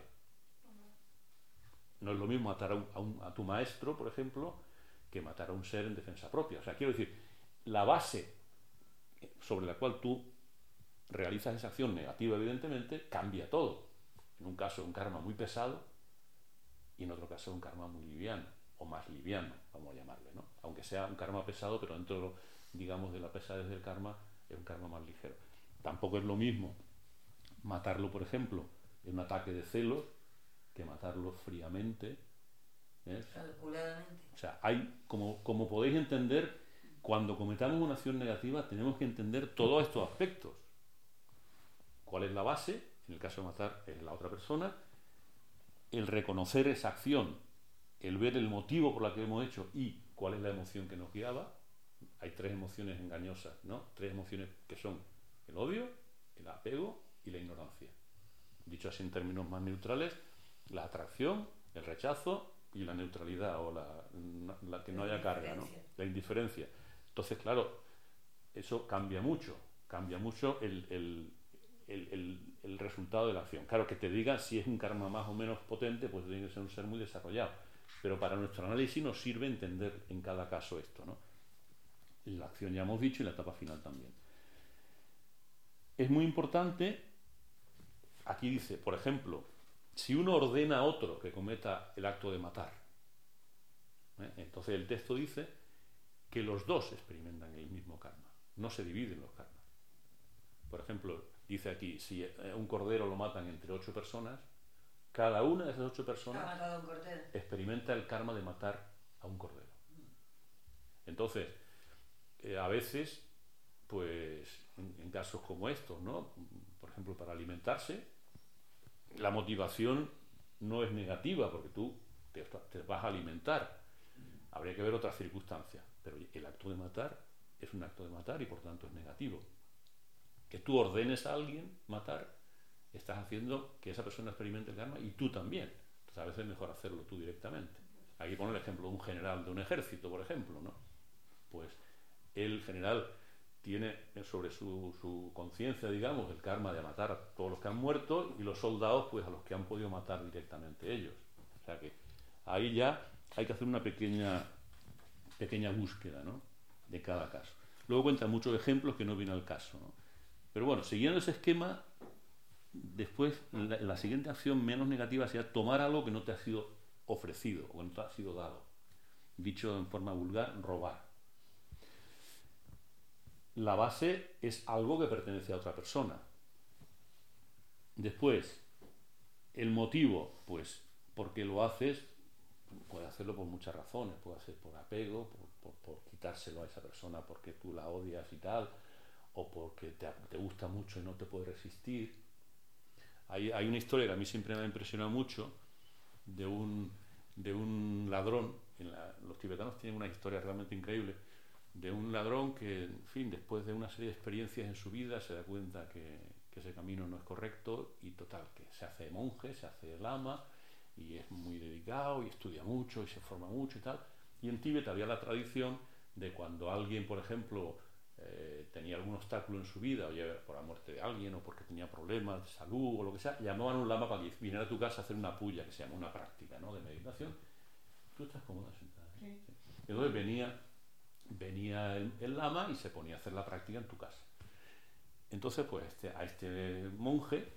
No es lo mismo matar a, un, a, un, a tu maestro, por ejemplo, que matar a un ser en defensa propia. O sea, quiero decir, la base sobre la cual tú realizas esa acción negativa, evidentemente, cambia todo. En un caso, un karma muy pesado, y en otro caso, un karma muy liviano, o más liviano, vamos a llamarle, ¿no? Aunque sea un karma pesado, pero dentro, digamos, de la pesadez del karma, es un karma más ligero. Tampoco es lo mismo matarlo, por ejemplo, en un ataque de celos, que matarlo fríamente, ¿eh? Calculadamente. O sea, hay, como, como podéis entender, cuando cometamos una acción negativa tenemos que entender todos estos aspectos. ¿Cuál es la base? En el caso de matar es la otra persona. El reconocer esa acción, el ver el motivo por la que hemos hecho y cuál es la emoción que nos guiaba. Hay tres emociones engañosas, ¿no? Tres emociones que son el odio, el apego y la ignorancia. Dicho así en términos más neutrales, la atracción, el rechazo y la neutralidad, o la, la que no haya carga, ¿no? La indiferencia. Entonces, claro, eso cambia mucho, cambia mucho el, el, el, el, el resultado de la acción. Claro, que te diga si es un karma más o menos potente, pues tiene que ser un ser muy desarrollado. Pero para nuestro análisis nos sirve entender en cada caso esto, ¿no? La acción ya hemos dicho y la etapa final también. Es muy importante, aquí dice, por ejemplo, si uno ordena a otro que cometa el acto de matar, ¿eh? Entonces el texto dice que los dos experimentan el mismo karma, no se dividen los karmas. Por ejemplo, dice aquí, si un cordero lo matan entre ocho personas, cada una de esas ocho personas Ha matado a un cordero. experimenta el karma de matar a un cordero. Entonces, eh, a veces pues en, en casos como estos, ¿no? Por ejemplo, para alimentarse, la motivación no es negativa porque tú te, te vas a alimentar. Habría que ver otras circunstancias, pero el acto de matar es un acto de matar y por tanto es negativo. Que tú ordenes a alguien matar, estás haciendo que esa persona experimente el karma y tú también. Entonces a veces es mejor hacerlo tú directamente. Aquí pone el ejemplo de un general de un ejército, por ejemplo, ¿no? Pues el general tiene sobre su, su conciencia, digamos, el karma de matar a todos los que han muerto y los soldados, pues a los que han podido matar directamente ellos. O sea que ahí ya hay que hacer una pequeña, pequeña búsqueda, ¿no? De cada caso. Luego cuenta muchos ejemplos que no vienen al caso, ¿no? Pero bueno, siguiendo ese esquema, después la, la siguiente acción menos negativa sería tomar algo que no te ha sido ofrecido o que no te ha sido dado. Dicho en forma vulgar, robar. La base es algo que pertenece a otra persona. Después, el motivo, pues porque lo haces, puedes hacerlo por muchas razones, puede ser por apego, por, por, por quitárselo a esa persona porque tú la odias y tal, o porque te, te gusta mucho y no te puedes resistir. Hay, hay una historia que a mí siempre me ha impresionado mucho de un, de un ladrón. En la, los tibetanos tienen una historia realmente increíble de un ladrón que, en fin, después de una serie de experiencias en su vida se da cuenta que, que ese camino no es correcto y total, que se hace monje, se hace lama y es muy dedicado y estudia mucho y se forma mucho y tal. Y en Tíbet había la tradición de cuando alguien, por ejemplo, eh, tenía algún obstáculo en su vida, o ya por la muerte de alguien o porque tenía problemas de salud o lo que sea, llamaban a un lama para que viniera a tu casa a hacer una puya, que se llama una práctica, ¿no?, de meditación. Tú estás cómoda sentada, ¿eh? Sí. Y entonces venía venía el, el lama y se ponía a hacer la práctica en tu casa. Entonces, pues este, a este monje,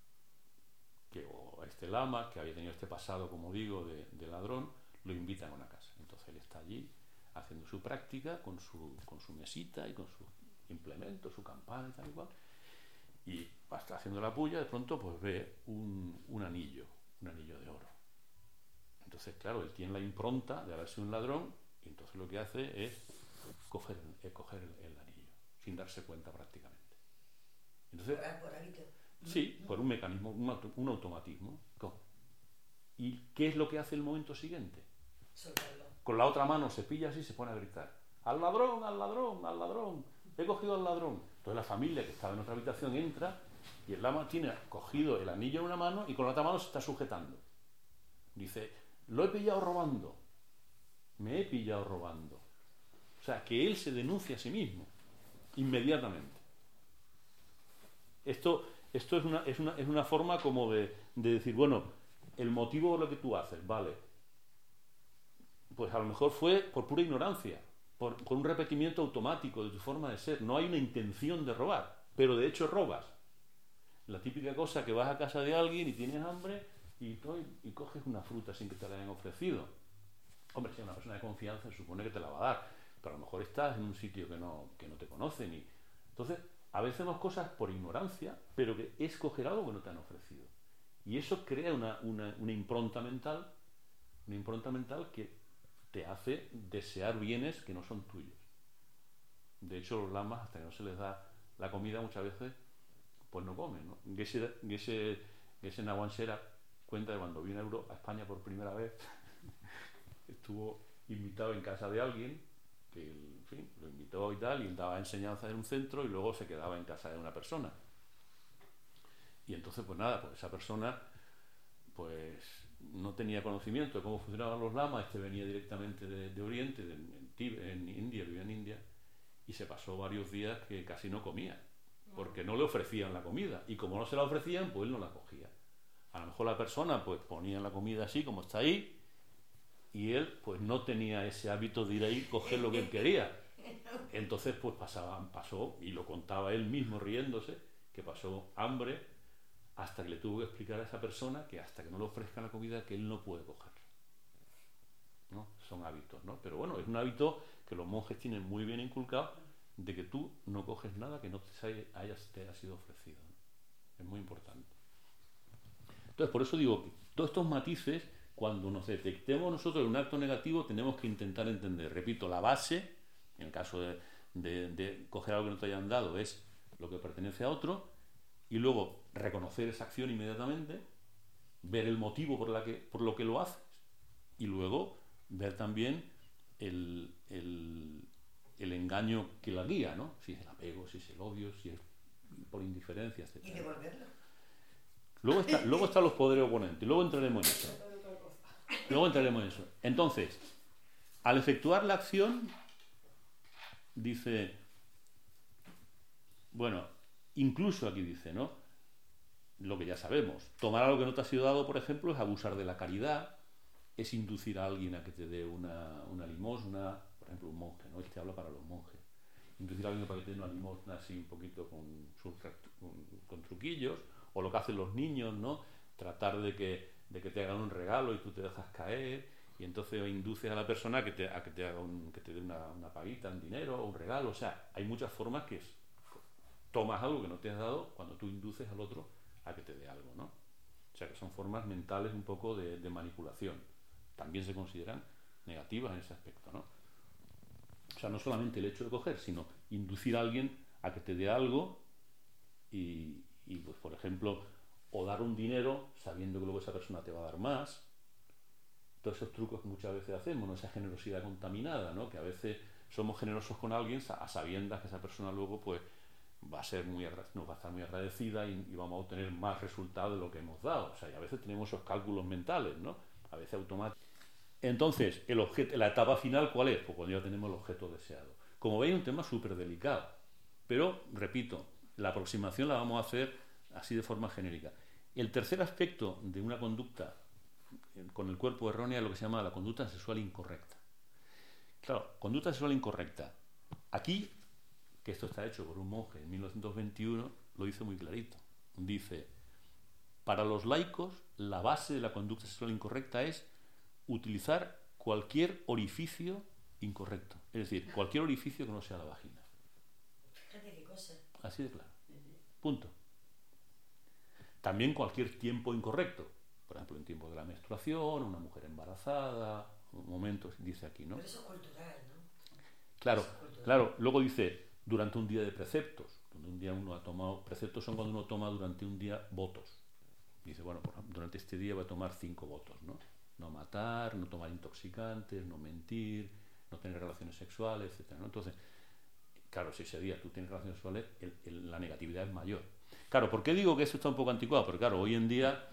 que, o a este lama, que había tenido este pasado, como digo, de, de ladrón, lo invitan a una casa. Entonces él está allí haciendo su práctica con su, con su mesita y con su implemento, su campana y tal y cual. Y está haciendo la puya, de pronto pues ve un, un anillo, un anillo de oro. Entonces, claro, él tiene la impronta de haber sido un ladrón y entonces lo que hace es coger, eh, coger el, el anillo, sin darse cuenta prácticamente. Entonces, por hábito. Sí, no. Por un mecanismo, un, auto, un automatismo. ¿Cómo? ¿Y qué es lo que hace el momento siguiente? Soltarlo. Con la otra mano se pilla así y se pone a gritar: ¡al ladrón, al ladrón, al ladrón! ¡He cogido al ladrón! Entonces la familia que estaba en otra habitación entra y el lama tiene cogido el anillo en una mano y con la otra mano se está sujetando. Dice: lo he pillado robando. Me he pillado robando. O sea, que él se denuncia a sí mismo inmediatamente. Esto, esto es, una, es, una, es una forma como de, de decir, bueno, el motivo de lo que tú haces, vale, pues a lo mejor fue por pura ignorancia, por, por un repetimiento automático de tu forma de ser. No hay una intención de robar, pero de hecho robas. La típica cosa que vas a casa de alguien y tienes hambre y, y coges una fruta sin que te la hayan ofrecido. Hombre, si es una persona de confianza, se supone que te la va a dar, pero a lo mejor estás en un sitio que no, que no te conocen. Y entonces, a veces hacemos cosas por ignorancia, pero que es coger algo que no te han ofrecido. Y eso crea una, una, una impronta mental, una impronta mental que te hace desear bienes que no son tuyos. De hecho, los lamas, hasta que no se les da la comida, muchas veces, pues no comen, ¿no? Geshe, Geshe, Geshe Nawan Shera cuenta de cuando vino a, Euro, a España por primera vez, estuvo invitado en casa de alguien, que en fin, lo invitó y tal, y daba enseñanza en un centro y luego se quedaba en casa de una persona. Y entonces, pues nada, pues esa persona pues no tenía conocimiento de cómo funcionaban los lamas. Este venía directamente de, de Oriente, de, en, Tibet, en India, vivía en India, y se pasó varios días que casi no comía, porque no le ofrecían la comida, y como no se la ofrecían, pues él no la cogía. A lo mejor la persona pues ponía la comida así como está ahí, y él pues no tenía ese hábito de ir ahí y coger lo que él quería. Entonces pues pasaba, pasó, y lo contaba él mismo riéndose, que pasó hambre hasta que le tuvo que explicar a esa persona que hasta que no le ofrezcan la comida, que él no puede cogerla, ¿no? Son hábitos, ¿no? Pero bueno, es un hábito que los monjes tienen muy bien inculcado, de que tú no coges nada que no te haya, te haya sido ofrecido, ¿no? Es muy importante. Entonces, por eso digo que todos estos matices, cuando nos detectemos nosotros en un acto negativo, tenemos que intentar entender, repito, la base, en el caso de, de, de coger algo que no te hayan dado es lo que pertenece a otro, y luego reconocer esa acción inmediatamente, ver el motivo por, la que, por lo que lo haces, y luego ver también el, el, el engaño que la guía, ¿no? Si es el apego, si es el odio, si es por indiferencia, etcétera. Y devolverlo. Luego, está, luego están los poderes oponentes, luego entraremos en eso. Luego entraremos en eso. Entonces, al efectuar la acción, dice, bueno, incluso aquí dice, ¿no? Lo que ya sabemos, tomar algo que no te ha sido dado, por ejemplo, es abusar de la caridad, es inducir a alguien a que te dé una, una limosna, por ejemplo, un monje, ¿no? Este habla para los monjes. Inducir a alguien para que te dé una limosna así un poquito con, con, con truquillos, o lo que hacen los niños, ¿no? Tratar de que, de que te hagan un regalo y tú te dejas caer, y entonces induces a la persona a que te, a que te haga un, que te dé una, una paguita, un dinero, un regalo. O sea, hay muchas formas que es, tomas algo que no te has dado cuando tú induces al otro a que te dé algo, ¿no? O sea, que son formas mentales un poco de, de manipulación. También se consideran negativas en ese aspecto, ¿no? O sea, no solamente el hecho de coger, sino inducir a alguien a que te dé algo y, y pues, por ejemplo, o dar un dinero sabiendo que luego esa persona te va a dar más. Todos esos trucos que muchas veces hacemos, ¿no? Esa generosidad contaminada, ¿no? Que a veces somos generosos con alguien a sabiendas que esa persona luego pues va a ser muy nos va a estar muy agradecida y, y vamos a obtener más resultado de lo que hemos dado. O sea, y a veces tenemos esos cálculos mentales, ¿no? A veces automáticos. Entonces, el objeto, la etapa final, ¿cuál es? Pues cuando ya tenemos el objeto deseado. Como veis, es un tema súper delicado. Pero, repito, la aproximación la vamos a hacer así de forma genérica. El tercer aspecto de una conducta con el cuerpo errónea es lo que se llama la conducta sexual incorrecta. Claro, conducta sexual incorrecta. Aquí, que esto está hecho por un monje en mil novecientos veintiuno, lo dice muy clarito. Dice, para los laicos, la base de la conducta sexual incorrecta es utilizar cualquier orificio incorrecto. Es decir, cualquier orificio que no sea la vagina. Fíjate qué cosa. Así de claro. Punto. También cualquier tiempo incorrecto. Por ejemplo, en tiempo de la menstruación, una mujer embarazada, momentos, dice aquí, ¿no? Pero eso es cultural, ¿no? Claro, Eso es cultural. claro. Luego dice, durante un día de preceptos. Donde un día uno ha tomado, preceptos son cuando uno toma durante un día votos. Dice, bueno, por ejemplo, durante este día voy a tomar cinco votos, ¿no? No matar, no tomar intoxicantes, no mentir, no tener relaciones sexuales, etcétera, ¿no? Entonces, claro, si ese día tú tienes relaciones sexuales, el, el, la negatividad es mayor. Claro, ¿por qué digo que eso está un poco anticuado? Porque claro, hoy en día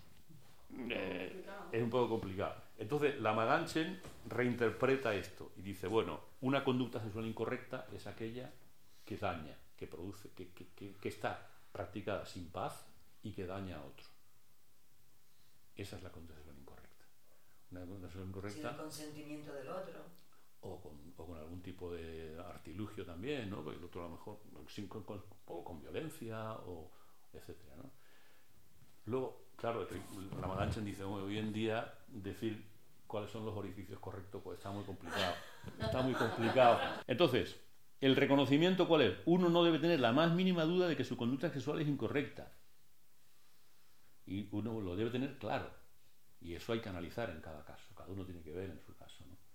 eh, es un poco complicado. Entonces, la Maganchen reinterpreta esto y dice, bueno, una conducta sexual incorrecta es aquella que daña, que produce, que, que, que, que está practicada sin paz y que daña a otro. Esa es la conducta sexual incorrecta. Una conducta sexual incorrecta. Sin el consentimiento del otro. O con, o con algún tipo de artilugio también, ¿no? Porque el otro a lo mejor sin, con, con, o con violencia, o etcétera, ¿no? Luego, claro, la Maganchen dice, bueno, hoy en día decir cuáles son los orificios correctos, pues está muy complicado. Está muy complicado. Entonces, ¿el reconocimiento cuál es? Uno no debe tener la más mínima duda de que su conducta sexual es incorrecta. Y uno lo debe tener claro. Y eso hay que analizar en cada caso. Cada uno tiene que ver en su caso, ¿no?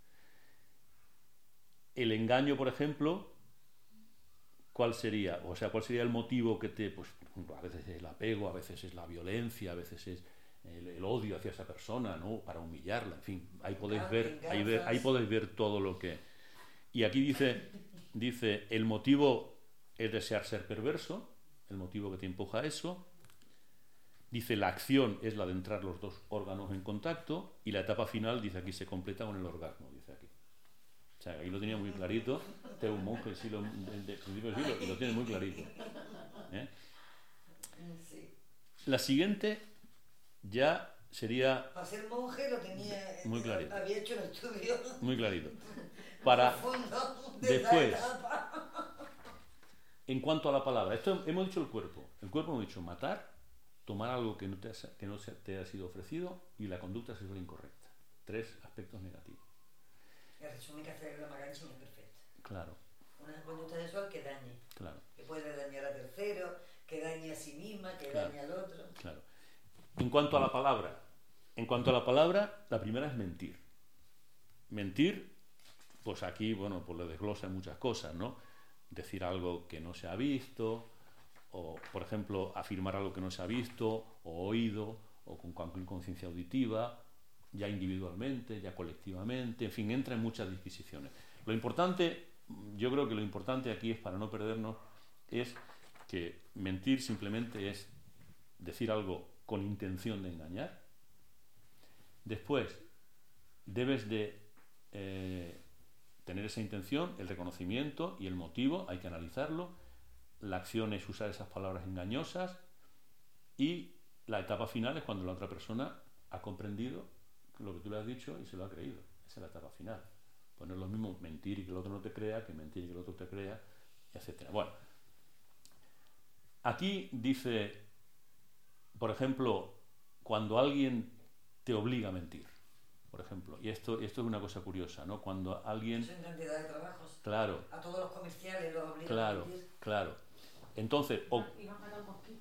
El engaño, por ejemplo, ¿cuál sería? O sea, ¿cuál sería el motivo que te... Pues, por ejemplo, a veces es el apego, a veces es la violencia, a veces es el, el odio hacia esa persona, ¿no? Para humillarla, en fin. Ahí podéis ver, ahí, ver, ahí podéis ver todo lo que... Y aquí dice, dice, el motivo es desear ser perverso, el motivo que te empuja a eso. Dice, la acción es la de entrar los dos órganos en contacto, y la etapa final, dice aquí, se completa con el orgasmo, dice aquí. O sea, ahí lo tenía muy clarito. Este es un monje del siglo, de, de principio del siglo, y lo tiene muy clarito. ¿Eh? Sí. La siguiente ya sería... Para ser monje lo tenía... Muy clarito. Había hecho el estudio. Muy clarito. Para... De Después, en cuanto a la palabra, esto hemos dicho el cuerpo. El cuerpo hemos dicho matar, tomar algo que no te ha, que no te ha sido ofrecido, y la conducta sexual incorrecta. Tres aspectos negativos. El resumen que hace la Maganchen es perfecto. Claro. Una conducta sexual que dañe. Claro. Que puede dañar a terceros, que dañe a sí misma, que Claro. dañe al otro. Claro. En cuanto a la palabra, en cuanto a la palabra, la primera es mentir. Mentir, pues aquí, bueno, pues le desglosa muchas cosas, ¿no? decir algo que no se ha visto, o, por ejemplo, afirmar algo que no se ha visto, o oído, o con cualquier conciencia auditiva, ya individualmente, ya colectivamente, en fin, entra en muchas disquisiciones. Lo importante, yo creo que lo importante aquí es, para no perdernos, es que mentir simplemente es decir algo con intención de engañar. Después, debes de eh, tener esa intención, el reconocimiento y el motivo, hay que analizarlo. La acción es usar esas palabras engañosas, y la etapa final es cuando la otra persona ha comprendido lo que tú le has dicho y se lo ha creído. Esa es la etapa final. Pues no es lo mismo mentir y que el otro no te crea que mentir y que el otro te crea, etcétera. Bueno, aquí dice, por ejemplo, cuando alguien te obliga a mentir, por ejemplo, y esto, esto es una cosa curiosa, ¿no? Cuando alguien... Eso en cantidad de trabajos. Claro. A todos los comerciales los obligan Claro, a mentir. claro. Entonces, o, Y van a dar mosquitos.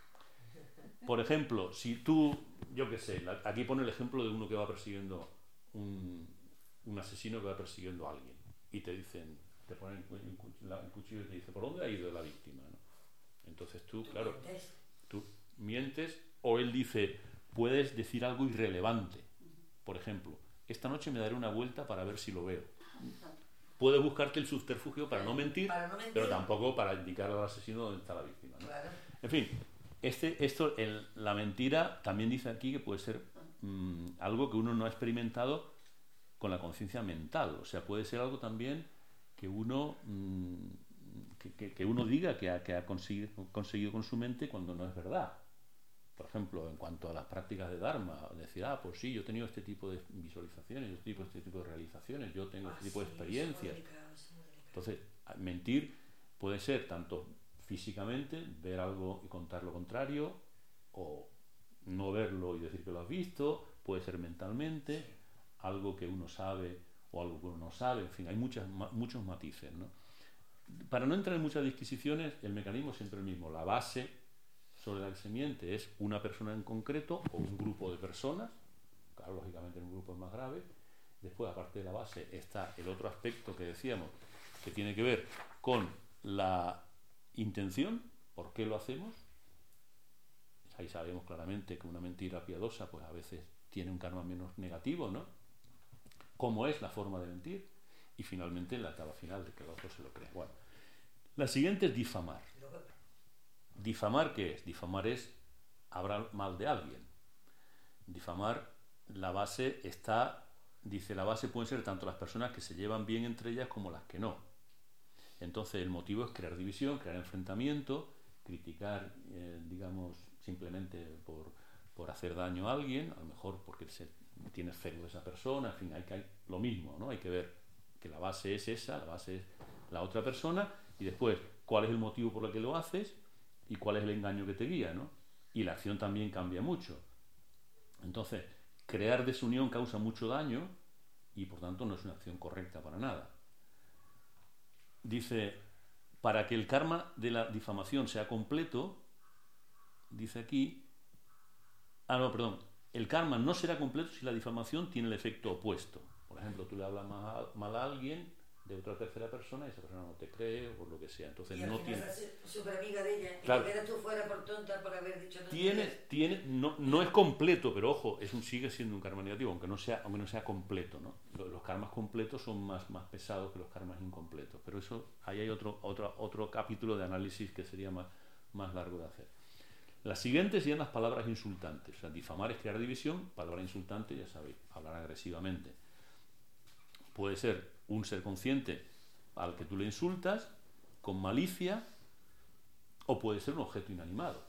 por ejemplo, si tú, yo qué sé, la- aquí pone el ejemplo de uno que va persiguiendo un, un asesino que va persiguiendo a alguien, y te dicen, te ponen un cu- la- un cuchillo y te dice, ¿por dónde ha ido la víctima? ¿No? Entonces tú, claro, Entonces, tú mientes, o él dice, puedes decir algo irrelevante. Por ejemplo, esta noche me daré una vuelta para ver si lo veo. Puedes buscarte el subterfugio para no mentir, para no mentir, pero tampoco para indicar al asesino dónde está la víctima, ¿no? claro. En fin, este, esto, el- la mentira también dice aquí que puede ser mm, algo que uno no ha experimentado con la conciencia mental. O sea, puede ser algo también que uno, mm, que, que- que uno diga que ha, que ha conseguido, conseguido con su mente cuando no es verdad. Por ejemplo, en cuanto a las prácticas de Dharma, decir, ah, pues sí, yo he tenido este tipo de visualizaciones, yo he tenido este tipo de realizaciones, yo tengo este Ah, tipo de sí, experiencias. eso es muy delicado, eso es muy delicado. Entonces, mentir puede ser tanto físicamente, ver algo y contar lo contrario, o no verlo y decir que lo has visto, puede ser mentalmente, algo que uno sabe o algo que uno no sabe, en fin, hay muchas, ma- muchos matices, ¿no? Para no entrar en muchas disquisiciones, el mecanismo es siempre el mismo. La base sobre la que se miente es una persona en concreto o un grupo de personas, claro, lógicamente en un grupo es más grave. Después, aparte de la base, está el otro aspecto que decíamos, que tiene que ver con la intención, por qué lo hacemos. Ahí sabemos claramente que una mentira piadosa pues a veces tiene un karma menos negativo, ¿no? Cómo es la forma de mentir, y finalmente la etapa final de que el otro se lo cree. Bueno, la siguiente es difamar. Luego, ¿Difamar qué es? Difamar es hablar mal de alguien. Difamar, la base está, dice, la base pueden ser tanto las personas que se llevan bien entre ellas como las que no. Entonces el motivo es crear división, crear enfrentamiento, criticar, eh, digamos, simplemente por, por hacer daño a alguien, a lo mejor porque se tiene celo de esa persona, en fin, hay que hay lo mismo, ¿no? Hay que ver que la base es esa, la base es la otra persona, y después cuál es el motivo por el que lo haces y cuál es el engaño que te guía, ¿no? Y la acción también cambia mucho. Entonces, crear desunión causa mucho daño y por tanto no es una acción correcta para nada. Dice, para que el karma de la difamación sea completo, dice aquí, ah no, perdón, el karma no será completo si la difamación tiene el efecto opuesto. Por ejemplo, tú le hablas mal a, mal a alguien de otra tercera persona y esa persona no te cree o por lo que sea. Entonces y al no final tiene... estás súper amiga de ella, Claro. y te quedas tú fuera por tonta por haber dicho no. Tiene, tiene, no, no es completo, pero ojo, es un, sigue siendo un karma negativo, aunque no sea, aunque no sea completo, ¿no? Los, los karmas completos son más, más pesados que los karmas incompletos, pero eso, ahí hay otro, otro, otro capítulo de análisis que sería más, más largo de hacer. Las siguientes serían las palabras insultantes. O sea, difamar es crear división, palabra insultante, ya sabéis, hablar agresivamente. Puede ser un ser consciente al que tú le insultas, con malicia, o puede ser un objeto inanimado.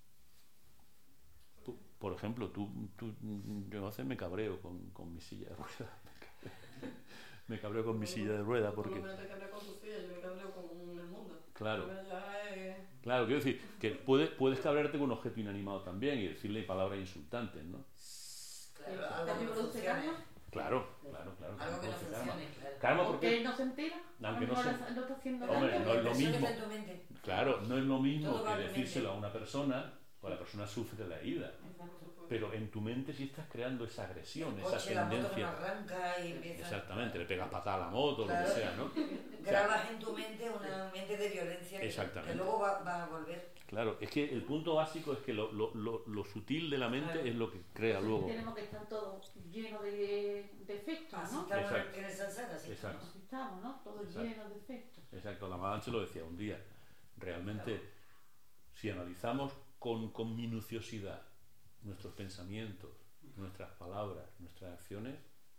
Tú, por ejemplo, tú, tú, yo a veces me cabreo con, con mi silla de ruedas. Me cabreo con mi silla de ruedas porque... Por lo menos te cabreo con tu silla, yo me cabreo con el mundo. Claro. Pero ya es... Claro, quiero decir que puedes, puedes cabrearte con un objeto inanimado también y decirle palabras insultantes, ¿no? Claro, ¿También algo que no produce funcione. karma? Claro, claro, claro. Algo que no produce karma. funcione, claro. Karma ¿Por porque... qué no se entera? Aunque no no se- lo está haciendo Hombre, daño. no es lo Eso mismo. está en tu mente. Claro, no es lo mismo Todo va que en tu mente. decírselo a una persona pues la persona sufre la herida. Pero en tu mente sí estás creando esa agresión, El esa coche, la moto que no tendencia. arranca y empieza... Exactamente, le pegas patada a la moto, Claro. lo que sea, ¿no? Grabas en tu mente una mente de violencia que, Exactamente. que luego va, va a volver. Claro, es que el punto básico es que lo, lo, lo, lo sutil de la mente Claro. es lo que crea luego. Tenemos que estar todos llenos de defectos, Así ¿no? estamos Exacto. en el Sansara, sí. Exacto. Así estamos, ¿no? Todos Exacto. llenos de defectos. Exacto, la Madanche lo decía un día. Realmente, si analizamos con, con minuciosidad nuestros pensamientos, nuestras palabras, nuestras acciones,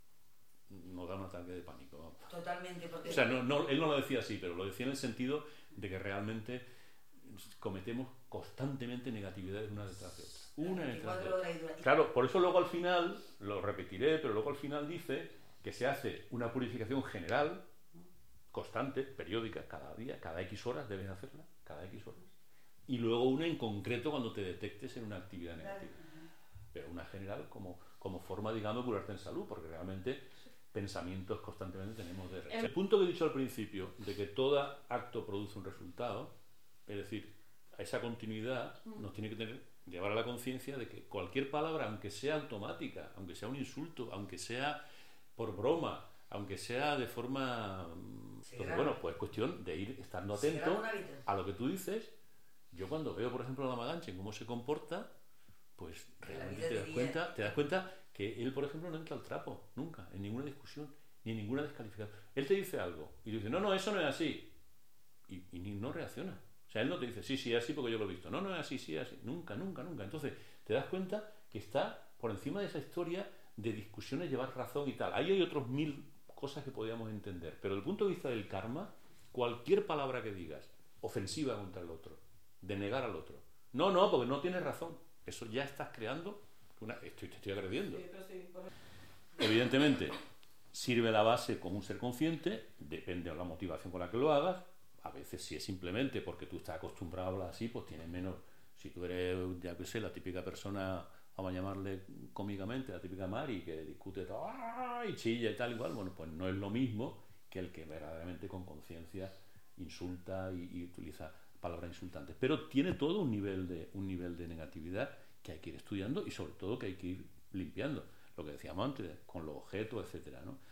nos da un ataque de pánico. Vamos. Totalmente, porque... O sea, no, no, él no lo decía así, pero lo decía en el sentido de que realmente cometemos constantemente negatividades una detrás de otra. Una detrás de veinticuatro otra. horas y dura- Claro, por eso luego al final, lo repetiré, pero luego al final dice que se hace una purificación general, constante, periódica, cada día, cada X horas debes hacerla, cada X horas. Y luego una en concreto cuando te detectes en una actividad negativa. Pero una general como, como forma, digamos, de curarte en salud, porque realmente pensamientos constantemente tenemos de rechazo. El punto que he dicho al principio, de que todo acto produce un resultado, es decir, a esa continuidad nos tiene que tener, llevar a la conciencia de que cualquier palabra, aunque sea automática, aunque sea un insulto, aunque sea por broma, aunque sea de forma... Sí, Entonces, claro. bueno, pues es cuestión de ir estando Se graba atento un hábito. a lo que tú dices. Yo cuando veo, por ejemplo, a la Madanche, cómo se comporta, pues realmente vida te das diría- cuenta, te das cuenta que él, por ejemplo, no entra al trapo, nunca, en ninguna discusión, ni en ninguna descalificación. Él te dice algo y dice, no, no, eso no es así. Y, y ni no reacciona. O sea, él no te dice, sí, sí, es así porque yo lo he visto. No, no es así, sí, es así. Nunca, nunca, nunca. Entonces, te das cuenta que está por encima de esa historia de discusiones, llevar razón y tal. Ahí hay otros mil cosas que podríamos entender. Pero desde el punto de vista del karma, cualquier palabra que digas, ofensiva contra el otro, de negar al otro. No, no, porque no tienes razón. Eso ya estás creando, una, estoy, te estoy agrediendo. Sí, pero sí, por- Evidentemente, sirve la base como un ser consciente, depende de la motivación con la que lo hagas. A veces, si es simplemente porque tú estás acostumbrado a hablar así, pues tienes menos. Si tú eres, ya que sé, la típica persona, vamos a llamarle cómicamente, la típica Mari, que discute todo, ¡ah! Y chilla y tal, igual, bueno, pues no es lo mismo que el que verdaderamente con conciencia insulta y, y utiliza palabras insultantes. Pero tiene todo un nivel de un nivel de negatividad que hay que ir estudiando y sobre todo que hay que ir limpiando. Lo que decíamos antes, con los objetos, etcétera, ¿no?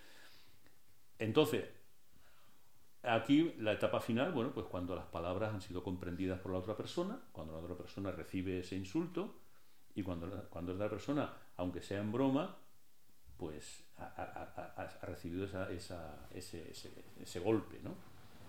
Entonces, aquí la etapa final, bueno, pues cuando las palabras han sido comprendidas por la otra persona, cuando la otra persona recibe ese insulto y cuando, cuando la persona, aunque sea en broma, pues ha, ha- ha- ha recibido esa, esa- ese, ese- ese golpe, ¿no?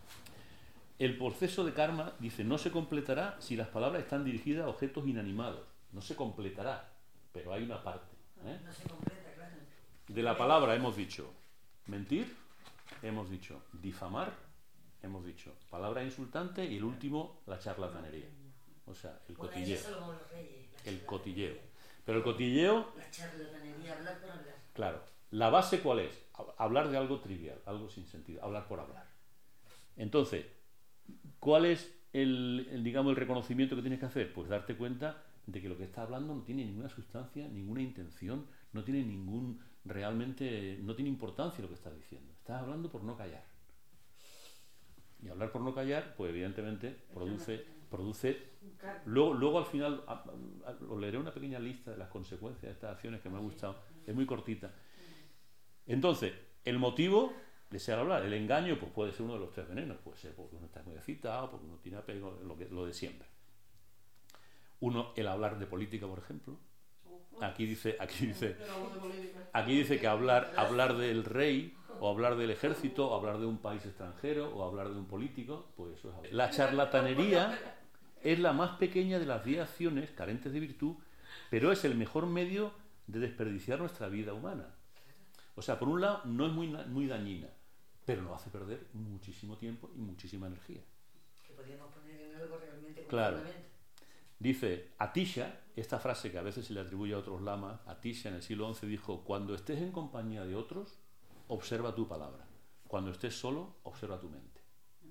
El proceso de karma, dice, no se completará si las palabras están dirigidas a objetos inanimados. No se completará, pero hay una parte, ¿eh? No se completa, claro. De la palabra hemos dicho mentir, hemos dicho difamar, hemos dicho palabra insultante y el último la charlatanería. O sea, el Bueno, cotilleo. eso es Salomón los Reyes, la El charlatanería. cotilleo. Pero el cotilleo, La charlatanería, hablar por hablar. claro, la base ¿cuál es? Hab- Hablar de algo trivial, algo sin sentido, hablar por hablar. Entonces, ¿cuál es el, el, digamos, el reconocimiento que tienes que hacer? Pues darte cuenta de que lo que estás hablando no tiene ninguna sustancia, ninguna intención, no tiene ningún, realmente, no tiene importancia lo que estás diciendo. Estás hablando por no callar. Y hablar por no callar, pues evidentemente produce, produce luego, luego al final, a- a- a- os leeré una pequeña lista de las consecuencias de estas acciones que me ha gustado, es muy cortita. Entonces, el motivo desear hablar, el engaño, pues puede ser uno de los tres venenos, puede ser porque uno está muy excitado, porque uno tiene apego, lo, que, lo de siempre. Uno, el hablar de política, por ejemplo. Aquí dice, aquí dice, Yo no hablo de política. aquí dice que hablar, hablar del rey, o hablar del ejército, o hablar de un país extranjero, o hablar de un político, pues eso es hablar. La charlatanería es la más pequeña de las diez acciones carentes de virtud, pero es el mejor medio de desperdiciar nuestra vida humana. O sea, por un lado, no es muy, na- muy dañina, pero nos hace perder muchísimo tiempo y muchísima energía. Que podíamos poner en algo realmente con Claro. fundamento. Dice Atisha, esta frase que a veces se le atribuye a otros lamas, Atisha en el siglo once dijo, cuando estés en compañía de otros, observa tu palabra. Cuando estés solo, observa tu mente.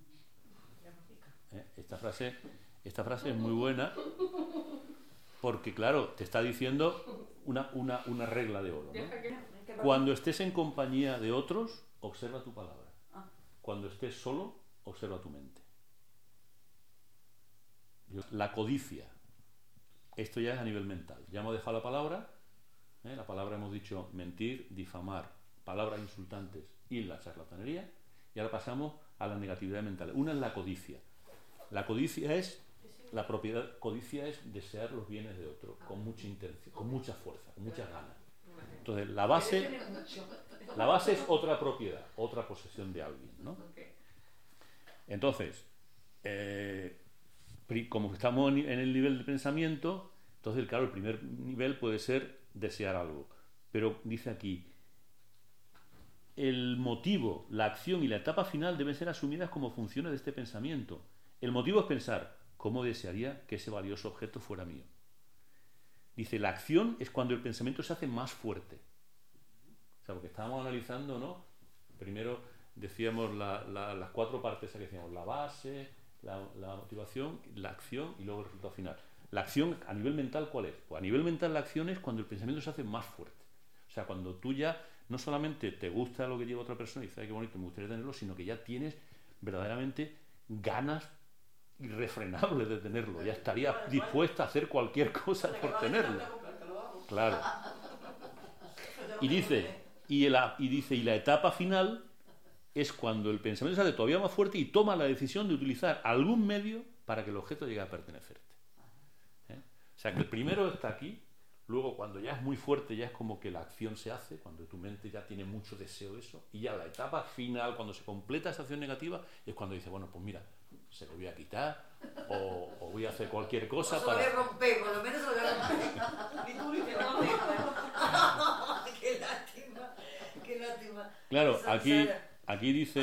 ¿Eh? Esta frase, esta frase es muy buena porque, claro, te está diciendo una, una, una regla de oro, ¿no? Deja que- Cuando estés en compañía de otros, observa tu palabra. Ah. Cuando estés solo, observa tu mente. Yo- La codicia. esto ya es a nivel mental. Ya hemos dejado la palabra, ¿eh? La palabra hemos dicho mentir, difamar, palabras insultantes y la charlatanería, y ahora pasamos a la negatividad mental. Una es la codicia. La codicia es la propiedad, codicia es desear los bienes de otro con mucha intención, con mucha fuerza, con muchas ganas. Entonces, la base, la base es otra propiedad, otra posesión de alguien, ¿no? Entonces, eh, como estamos en el nivel de pensamiento, entonces, claro, el primer nivel puede ser desear algo. Pero dice aquí, el motivo, la acción y la etapa final deben ser asumidas como funciones de este pensamiento. El motivo es pensar, ¿cómo desearía que ese valioso objeto fuera mío? Dice, la acción es cuando el pensamiento se hace más fuerte. O sea, porque estábamos analizando, ¿no? Primero decíamos la, la, las cuatro partes que decíamos, la base, la, la motivación, la acción y luego el resultado final. La acción a nivel mental, ¿cuál es? Pues a nivel mental la acción es cuando el pensamiento se hace más fuerte. O sea, cuando tú ya no solamente te gusta lo que lleva otra persona y dices, ay, qué bonito, me gustaría tenerlo, sino que ya tienes verdaderamente ganas irrefrenables de tenerlo. Ya estarías dispuesta a hacer cualquier cosa por tenerlo. Claro. Y dice, y, la, y dice, y la etapa final es cuando el pensamiento se hace todavía más fuerte y toma la decisión de utilizar algún medio para que el objeto llegue a pertenecerte. ¿Eh? O sea, que el primero está aquí. Luego, cuando ya es muy fuerte, ya es como que la acción se hace, cuando tu mente ya tiene mucho deseo de eso, y ya la etapa final, cuando se completa esa acción negativa, es cuando dice, bueno, pues mira, se lo voy a quitar, o, o voy a hacer cualquier cosa o para... se lo voy a romper, por lo menos se lo voy a romper. Ni tú ni yo. Qué lástima, qué lástima. Claro, aquí, aquí dice,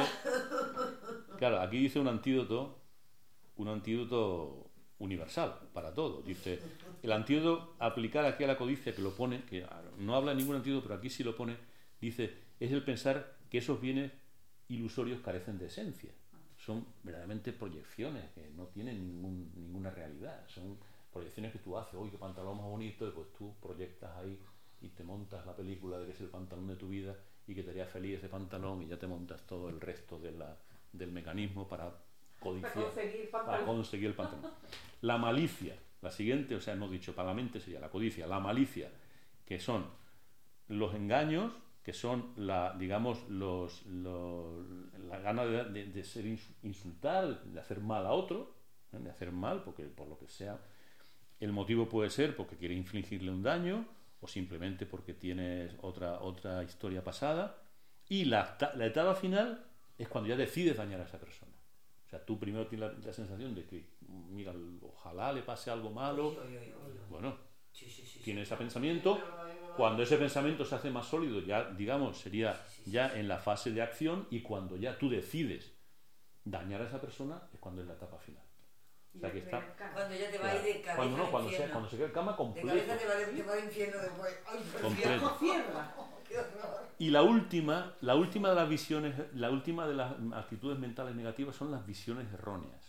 claro, aquí dice un antídoto, un antídoto universal para todo. Dice, el antídoto aplicar aquí a la codicia, que lo pone, que no habla de ningún antídoto, pero aquí sí lo pone, dice, es el pensar que esos bienes ilusorios carecen de esencia. Son verdaderamente proyecciones que no tienen ningún, ninguna realidad. Son proyecciones que tú haces, uy, qué pantalón más bonito, y pues tú proyectas ahí y te montas la película de que es el pantalón de tu vida y que te haría feliz ese pantalón, y ya te montas todo el resto de la, del mecanismo para codiciar, para conseguir, para conseguir el pantalón. La malicia, la siguiente, o sea, hemos dicho, para la mente sería la codicia, la malicia, que son los engaños, que son la, digamos, los, los, la gana de, de, de ser insultar, de hacer mal a otro, ¿eh? De hacer mal, porque por lo que sea, el motivo puede ser porque quiere infligirle un daño, o simplemente porque tienes otra, otra historia pasada, y la, la etapa final es cuando ya decides dañar a esa persona. O sea, tú primero tienes la, la sensación de que, mira, ojalá le pase algo malo. Oye, oye, oye, oye. Bueno, Sí, sí, sí, tiene sí. ese pensamiento. Cuando ese pensamiento se hace más sólido, ya, digamos, sería ya en la fase de acción, y cuando ya tú decides dañar a esa persona, es cuando es la etapa final. O sea, que está... Cuando ya te va a ir de cabeza Cuando no, al cuando se, infierno. cuando se queda en cama De completo. cabeza te va, de, te va al infierno después. Ay, por Completo. Dios. Qué horror. Y la última, la última de las visiones, la última de las actitudes mentales negativas son las visiones erróneas.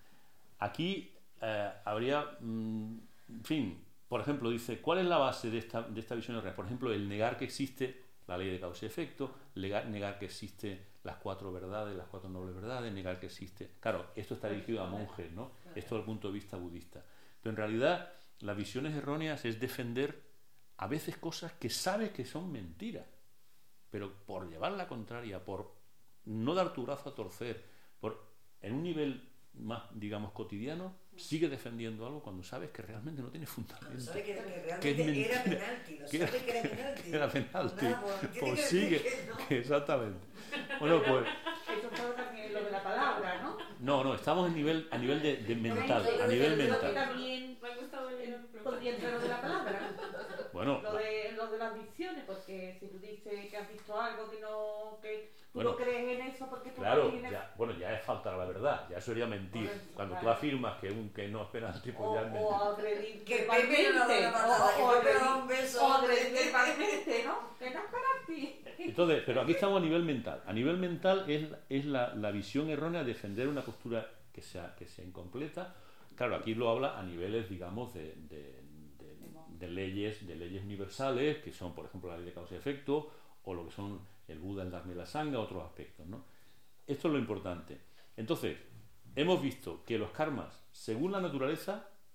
Aquí eh, habría, mm, en fin, por ejemplo, dice, ¿cuál es la base de esta, de esta visión errónea? Por ejemplo, el negar que existe la ley de causa y efecto, negar, negar que existe las cuatro verdades, las cuatro nobles verdades, negar que existe... Claro, esto está dirigido a monjes, ¿no? Esto desde el punto de vista budista. Pero en realidad, las visiones erróneas es defender a veces cosas que sabes que son mentiras, pero por llevar la contraria, por no dar tu brazo a torcer, por en un nivel más, digamos, cotidiano, sigue defendiendo algo cuando sabes que realmente no tiene fundamento. Sabe que, que Que es realmente mentira. era penalti, lo Que sabe que era penalti. Era penalti. Nada, pues, tiene Pues que sigue, decir que no. que exactamente. Bueno, pues Eso fue también lo de la palabra, ¿no? no, no, estamos en nivel, a nivel de, de mental, Yo a nivel creo que mental. También Me ha gustado el ejemplo. podría entrar lo de la palabra. Bueno, Lo de, lo de las visiones, porque si tú dices que has visto algo que no, que tú Bueno, no crees en eso porque tú claro, no crees en ya, bueno, ya es faltar a la verdad, ya sería mentir. Correcto, Cuando tú claro. afirmas que un que no esperas tipo o, ya es o mentir. agredir Que verbalmente, Pepe no da una patada, o, o que Pepe agredir, da un beso. o agredir verbalmente, ¿no? Que no es para ti. Entonces, pero aquí estamos a nivel mental. A nivel mental es, es la, la visión errónea de defender una postura que sea, que sea incompleta. Claro, aquí lo habla a niveles, digamos, de, de, de, de leyes, de leyes universales, que son, por ejemplo, la ley de causa y efecto, o lo que son el Buda, el Dharma y la Sangha, otros aspectos, ¿no? Esto es lo importante. Entonces, hemos visto que los karmas, según la naturaleza,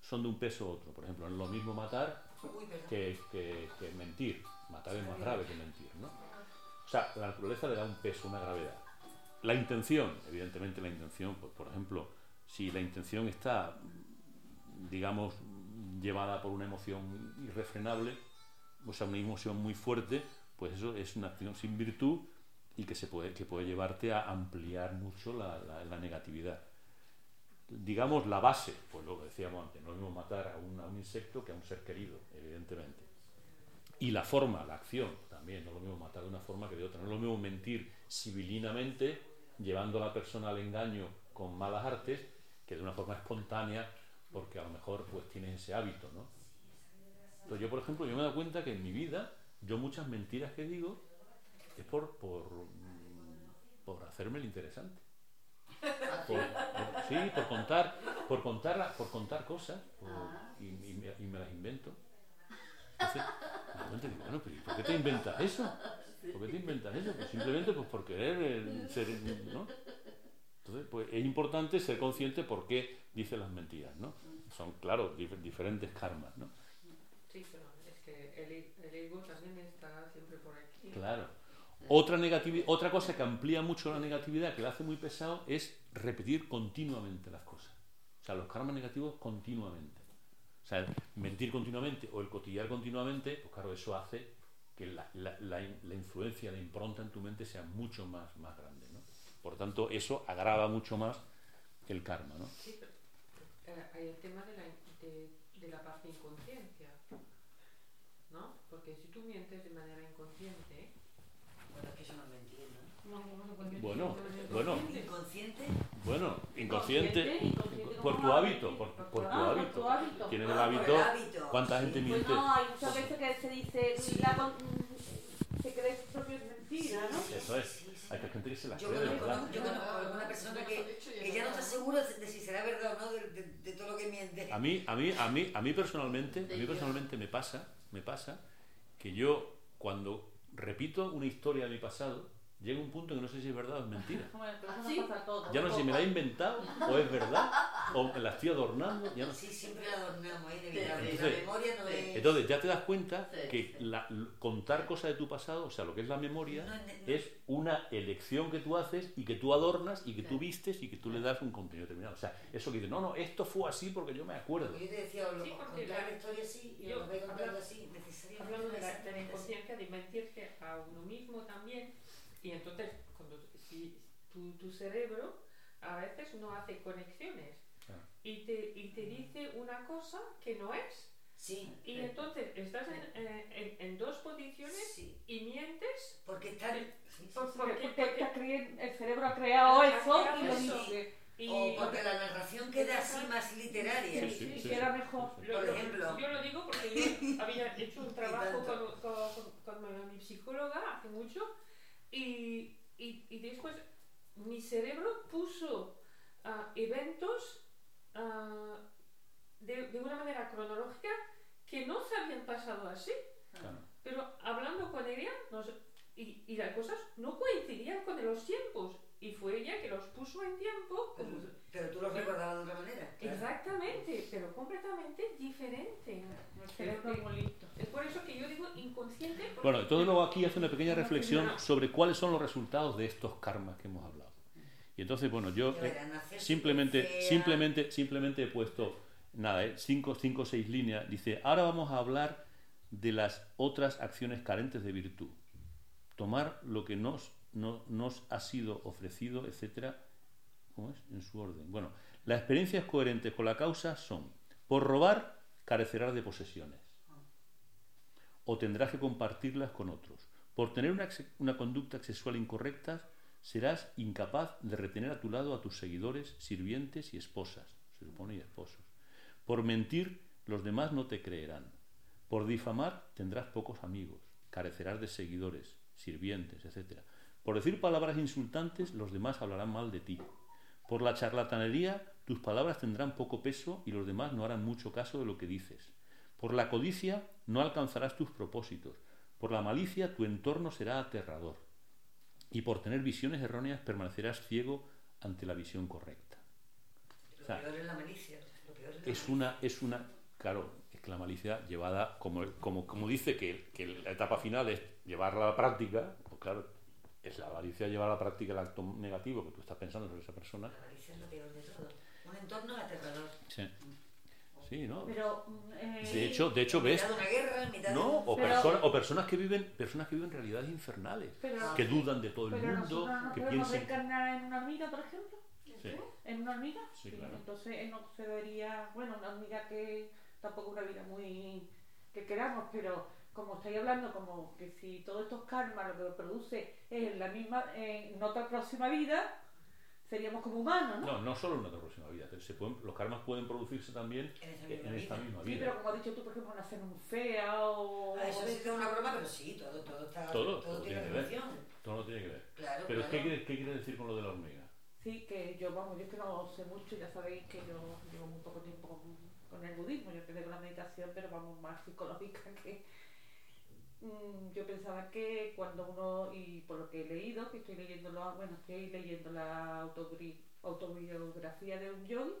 son de un peso u otro. Por ejemplo, no es lo mismo matar Uy, perdón. que, que, que mentir. Matar es más grave que mentir, ¿no? O sea, la naturaleza le da un peso, una gravedad. La intención, evidentemente la intención, pues, por ejemplo, si la intención está, digamos, llevada por una emoción irrefrenable, o sea, una emoción muy fuerte, pues eso es una acción sin virtud y que, se puede, que puede llevarte a ampliar mucho la, la, la negatividad. Digamos, la base, pues lo que decíamos antes, no es lo mismo matar a un, a un insecto que a un ser querido, evidentemente. Y la forma, la acción, también, no es lo mismo matar de una forma que de otra. No es lo mismo mentir sibilinamente, llevando a la persona al engaño con malas artes, que de una forma espontánea, porque a lo mejor pues tienes ese hábito, ¿no? Entonces yo, por ejemplo, yo me he dado cuenta que en mi vida, yo muchas mentiras que digo es por, por, por hacerme el interesante. Por, por, sí, por contar, por contar, por contar cosas por, y, y, me, y me las invento. Entonces, me cuenta que, bueno, pero ¿por qué te inventas eso? ¿Por qué te inventas eso? Pues simplemente pues por querer eh, ser, ¿no? Entonces, pues es importante ser consciente por qué dice las mentiras, ¿no? Son, claro, dif diferentes karmas, ¿no? Sí, pero es que el, el ego también está siempre por aquí. Claro. Otra, negativi- otra cosa que amplía mucho la negatividad, que la hace muy pesado, es repetir continuamente las cosas. O sea, los karmas negativos continuamente. O sea, mentir continuamente o el cotillar continuamente, pues claro, eso hace que la, la, la, la influencia, la impronta en tu mente sea mucho más, más grande, ¿no? Por tanto, eso agrava mucho más el karma, ¿no? Sí, pero eh, hay el tema de la, de, de la parte de inconsciencia, ¿no? Porque si tú mientes de manera inconsciente... Bueno, es que eso no lo entiendo. No, no, no, porque Bueno, tú- bueno. ¿Inconsciente? Bueno, inconsciente, inconsciente por tu como hábito, por, hábito. por tu Ah, por hábito. tu hábito. Tienes Ah, el por hábito. el hábito. ¿Cuánta Sí. gente Pues miente? no, hay muchas veces que se dice, Sí. la con- mm, se cree sus propias mentiras, ¿no? Eso es. Sí, sí. Hay gente que se las Yo cree, de conozco, verdad. yo conozco a alguna persona que, que ya no está segura de si será verdad o no de, de, de todo lo que miente. A mí, a mí, a mí, a mí personalmente, a mí personalmente me pasa, me pasa que yo cuando repito una historia de mi pasado, llega un punto que no sé si es verdad o es mentira. Bueno, pero eso ¿Sí? nos pasa a todos. Ya no sé si me la he inventado o es verdad o me la estoy adornando. Ya no sé. Sí, siempre la adornamos, es inevitable. Sí, La sí. memoria no es... Entonces ya te das cuenta Sí, que sí. la- contar cosas de tu pasado, o sea, lo que es la memoria, No, no, no. es una elección que tú haces y que tú adornas y que tú vistes y que tú le das un contenido determinado. O sea, eso que dices, no, no, esto fue así porque yo me acuerdo. Porque yo te decía, o lo, Sí, porque contar la- la historia así y yo- os voy contando habla- así, necesariamente. Hablando de la, de la exactamente así. inconsciencia, de mentirse a uno mismo también, y entonces cuando si tu, tu cerebro a veces no hace conexiones Ah. y te, y te dice una cosa que no es, Sí, y entonces estás en, eh, en, en dos posiciones sí. y mientes Porque están... Eh, sí, sí, por- sí. porque, Porque porque- te creen- el cerebro ha creado Ha eso creado y lo eso. dice. y O porque la narración queda así más literaria. Sí, Sí, sí, sí, sí, que era sí. mejor. Sí, sí. Lo- Por lo- ejemplo. yo lo digo porque yo había hecho un trabajo Y con, tanto. con, con, con mi psicóloga hace mucho y, y, y después mi cerebro puso ah, eventos ah, de, de una manera cronológica que no se habían pasado así, Claro. pero hablando con ella nos- y, y las cosas no coincidían con los tiempos y fue ella que los puso en tiempo como- Pero tú lo recordabas de otra manera. claro. exactamente, pero completamente diferente. El cerebro es muy listo. Es por eso que yo digo inconsciente. porque- Bueno, entonces luego aquí hace una pequeña reflexión sobre cuáles son los resultados de estos karmas que hemos hablado. Y entonces, bueno, yo Ya eh, verán, hacerse simplemente, fea. simplemente, simplemente he puesto, nada, eh, cinco, cinco o seis líneas. Dice, ahora vamos a hablar de las otras acciones carentes de virtud. Tomar lo que nos, no- nos ha sido ofrecido, etcétera. ¿Cómo es? En su orden. Bueno, las experiencias coherentes con la causa son, por robar, carecerás de posesiones. O tendrás que compartirlas con otros. Por tener una, ex- una conducta sexual incorrecta, serás incapaz de retener a tu lado a tus seguidores, sirvientes y esposas, se supone, y esposos. Por mentir, los demás no te creerán. Por difamar, tendrás pocos amigos, carecerás de seguidores, sirvientes, etcétera. Por decir palabras insultantes, los demás hablarán mal de ti. Por la charlatanería, tus palabras tendrán poco peso y los demás no harán mucho caso de lo que dices. Por la codicia, no alcanzarás tus propósitos. Por la malicia, tu entorno será aterrador. Y por tener visiones erróneas, permanecerás ciego ante la visión correcta. Lo O sea, peor es la malicia. Lo peor es es una, es una, claro, es que la malicia llevada, como, como, como dice que, que la etapa final es llevarla a la práctica, pues claro, es la malicia llevar a la práctica el acto negativo que tú estás pensando sobre esa persona. La malicia es lo peor de todo. Un entorno aterrador. Sí. Sí, ¿no? Pero, eh, De hecho, de hecho En ves, mitad de una guerra, en mitad ¿no? de... O, Pero- personas, o personas que viven, personas que viven realidades infernales, pero, que dudan de todo el pero mundo, nosotros no que podemos piensan. reencarnar en una hormiga, por ejemplo. Sí. ¿En una hormiga? Sí, claro. Entonces eh, no se vería, bueno, una hormiga que tampoco una vida muy que queramos, pero como estáis hablando, como que si todos estos karmas lo que produce es en la misma, en otra próxima vida, seríamos como humanos, ¿no? No, no solo en otra próxima vida. Se pueden, los karmas pueden producirse también En esa en misma esta vida. misma Sí, vida. pero como has dicho tú, por ejemplo, nacer en un fea o... Ah, eso o sí de- que es una broma, pero sí, todo, todo está... Todo, todo tiene tiene que ver. relación. Todo no tiene que ver. Claro, Pero claro. ¿qué quiere, qué quiere decir con lo de la hormiga? Sí, que yo, vamos, yo es que no sé mucho, ya sabéis que yo llevo muy poco tiempo con, con el budismo, yo empecé con la meditación, pero vamos, más psicológica que... mm, yo pensaba que cuando uno, y por lo que he leído, que estoy leyendo, lo, bueno, estoy leyendo la autobri- autobiografía de un yogi,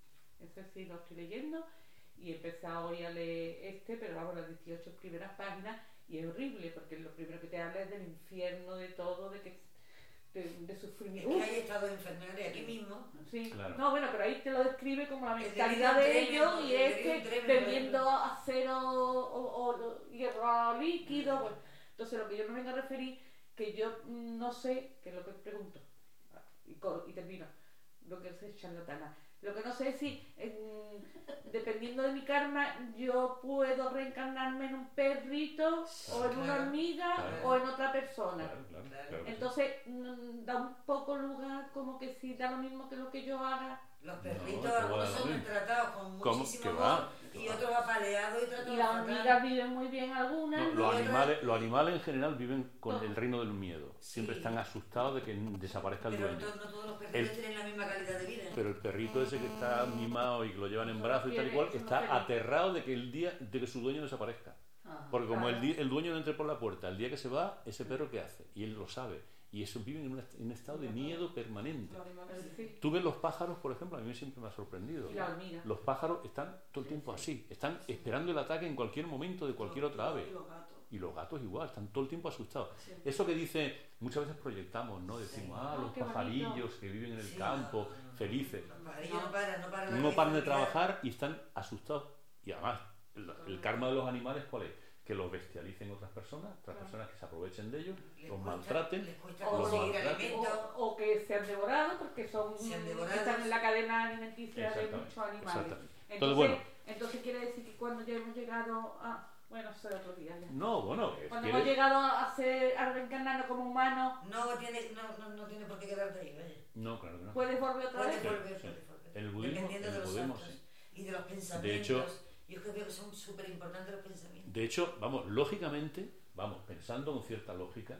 ese sí lo estoy leyendo, y he empezado hoy a leer este, pero vamos, las dieciocho primeras páginas, y es horrible, porque lo primero que te habla es del infierno, de todo, de que de, de Es sufrimiento. que hay estados infernales aquí mismo. Sí, Claro. no, bueno, pero ahí te lo describe como la El mentalidad delirium de ellos tremens, y el es delirium que tremens, bebiendo por acero o, o, o hierro líquido. Pues. Entonces, lo que yo me vengo a referir, que yo mm, no sé, que es lo que pregunto, y, co- y termino, lo que sé, charlatana. Lo que no sé es si, en- dependiendo de mi karma, yo puedo reencarnarme en un perrito, o en una Claro, hormiga, claro. o en otra persona. Claro, claro, Claro. claro que sí. Entonces mm, da un poco lugar como que si da lo mismo que lo que yo haga Los No, perritos, te voy a algunos dar son bien. tratados con ¿Cómo? muchísimo ¿Qué amor va? ¿Qué y va? otros apaleados y y tratados las fatal. hormigas viven muy bien algunas No, y los, otras- animales, los animales en general viven con No. el reino del miedo. Siempre Sí. están asustados de que desaparezca el Pero dueño. entonces no todos los perritos El- tienen la misma calidad de vida. Pero el perrito ese que está mimado y que lo llevan en brazos y tal y cual, Eso no está tiene. aterrado de que el día de que su dueño desaparezca. Ah. Porque como el, Claro. di- el dueño no entre por la puerta, el día que se va, ese perro ¿qué hace? Y él lo sabe. Y eso viven en un, est- en un estado de miedo permanente. Los animales sí. Sí, Tú ves los pájaros, por ejemplo, a mí siempre me ha sorprendido. y la hormiga. Los pájaros están todo el tiempo así, están esperando el ataque en cualquier momento de cualquier otra ave. Y los gatos. Y los gatos igual, están todo el tiempo asustados. Sí. Eso que dice, muchas veces proyectamos, ¿no? Decimos, Sí. ah, Oh, los qué bonito. pajarillos que viven en el Sí. campo, felices. Los pajarillos no paran, no paran. No paran de trabajar y están asustados. Y además, el, el karma de los animales, ¿cuál es? Que los bestialicen otras personas, otras Claro. personas que se aprovechen de ellos, Les los cuesta- maltraten. Les cuesta O, los conseguir maltraten. alimento. o, o que se han devorado porque son Se han mm, devorado. están en la cadena alimenticia de Exactamente, muchos animales. exactamente. Entonces, Entonces, bueno. entonces quiere decir que cuando ya hemos llegado a... Bueno, eso es otro día ya. No, bueno, es Cuando que hemos eres- llegado a, ser, a reencarnarnos como humanos, No tiene, no, no, no tiene por qué quedarte ahí, vaya. No, claro que no. puedes volver otra Puedes vez. volver, sí. puedes volver. En el budismo, Dependiendo en de el los budismo, actos sí. y de los pensamientos. De hecho- yo creo que son súper importantes los pensamientos. De hecho, vamos, lógicamente, vamos, pensando con cierta lógica,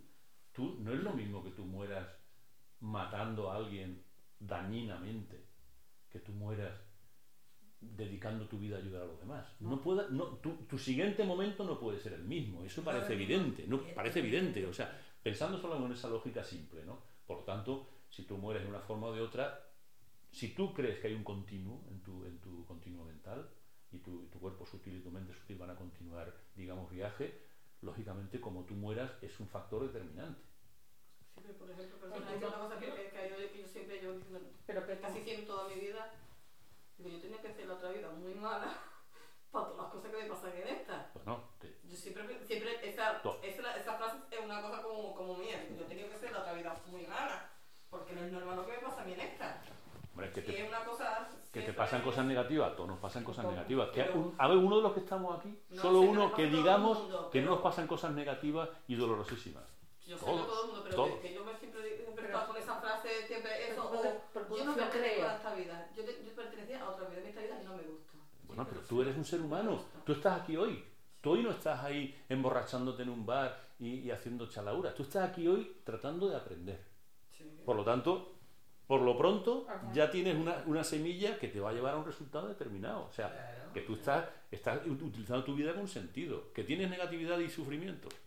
tú no es lo mismo que tú mueras matando a alguien dañinamente, que tú mueras dedicando tu vida a ayudar a los demás. No pueda, no, tu, tu siguiente momento no puede ser el mismo, eso No, parece no, evidente, no, no. parece evidente, o sea, pensando solo en esa lógica simple, ¿no? Por lo tanto, si tú mueres de una forma o de otra, si tú crees que hay un continuo en tu, en tu continuo mental y tu, y tu cuerpo sutil y tu mente sutil van a continuar, digamos, viaje, lógicamente como tú mueras es un factor determinante. Sí, pero por ejemplo, personas, es una cosa que, que, que yo, que yo siempre llevo diciendo Pero que casi siempre toda mi vida, digo, yo tenía que hacer la otra vida muy mala para todas las cosas que me pasan en esta. Pues no, te- Yo siempre, siempre esa, To- esa, esa frase es una cosa como, como mía, digo, yo he tenido que hacer la otra vida muy mala, porque no es normal lo que me pasa a mí en esta. hombre, que Y te, es una cosa... que te siempre- pasan cosas negativas, a todos nos pasan cosas Pero- negativas. Que pero- un- a ver, uno de los que estamos aquí, No solo sé, uno pero que pasa todo el digamos mundo, que no pero- nos pasan cosas negativas y dolorosísimas. Yo sé Todo, que todo el mundo, pero todo. que, que yo me siempre siempre Pero- estaba con esa frase, siempre eso, Pero- o pero- yo no pero- pertenezco creo. a esta vida, yo, te- yo pertenecía a otra vida, en esta vida no me gusta. Bueno, Sí, pero sí, tú eres un ser no me humano, gusta. tú estás aquí hoy. Tú hoy no estás ahí emborrachándote en un bar y, y haciendo chalauras. Tú estás aquí hoy tratando de aprender. Sí. Por lo tanto, por lo pronto, Ajá. ya tienes una, una semilla que te va a llevar a un resultado determinado. O sea, Claro. que tú estás, estás utilizando tu vida con sentido. Que tienes negatividad y sufrimiento.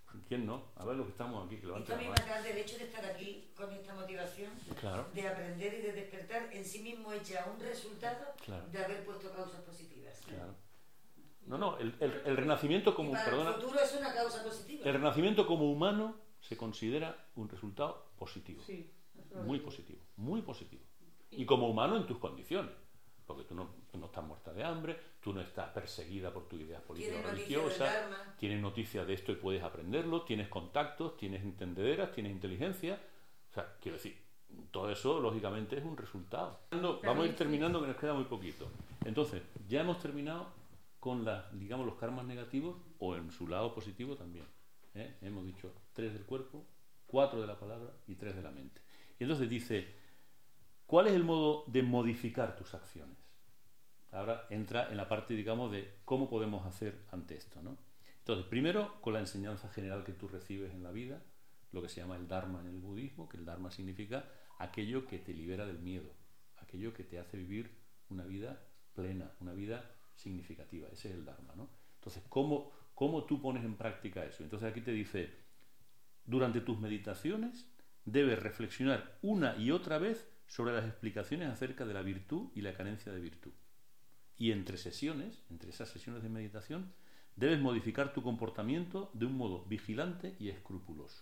¿Quién no? A ver los que estamos aquí, que Esto levanten a mí la me mano. atrae del hecho de estar aquí con esta motivación, Claro, de aprender y de despertar en sí mismo es ya un resultado claro, de haber puesto causas positivas. claro. No, no, el, el, el renacimiento Y como, para perdona, el futuro es una causa positiva. el renacimiento como humano se considera un resultado positivo, Sí, eso lo muy digo. positivo, muy positivo. Y como humano en tus condiciones, porque tú no, tú no estás muerta de hambre, tú no estás perseguida por tus ideas políticas Tiene o noticias del religiosas, Dharma. tienes noticias de esto y puedes aprenderlo, tienes contactos, tienes entendederas, tienes inteligencia. O sea, quiero decir, todo eso lógicamente es un resultado. Vamos a ir terminando, que nos queda muy poquito. Entonces, ya hemos terminado con la, digamos, los karmas negativos o en su lado positivo también. ¿eh? Hemos dicho tres del cuerpo, cuatro de la palabra y tres de la mente. Y entonces dice, ¿cuál es el modo de modificar tus acciones? Ahora entra en la parte, digamos, de cómo podemos hacer ante esto, ¿no? Entonces, primero, con la enseñanza general que tú recibes en la vida, lo que se llama el Dharma en el budismo, que el Dharma significa aquello que te libera del miedo, aquello que te hace vivir una vida plena, una vida significativa. Ese es el Dharma, ¿no? Entonces, ¿cómo, cómo tú pones en práctica eso? Entonces aquí te dice, durante tus meditaciones debes reflexionar una y otra vez sobre las explicaciones acerca de la virtud y la carencia de virtud. Y entre sesiones, entre esas sesiones de meditación, debes modificar tu comportamiento de un modo vigilante y escrupuloso.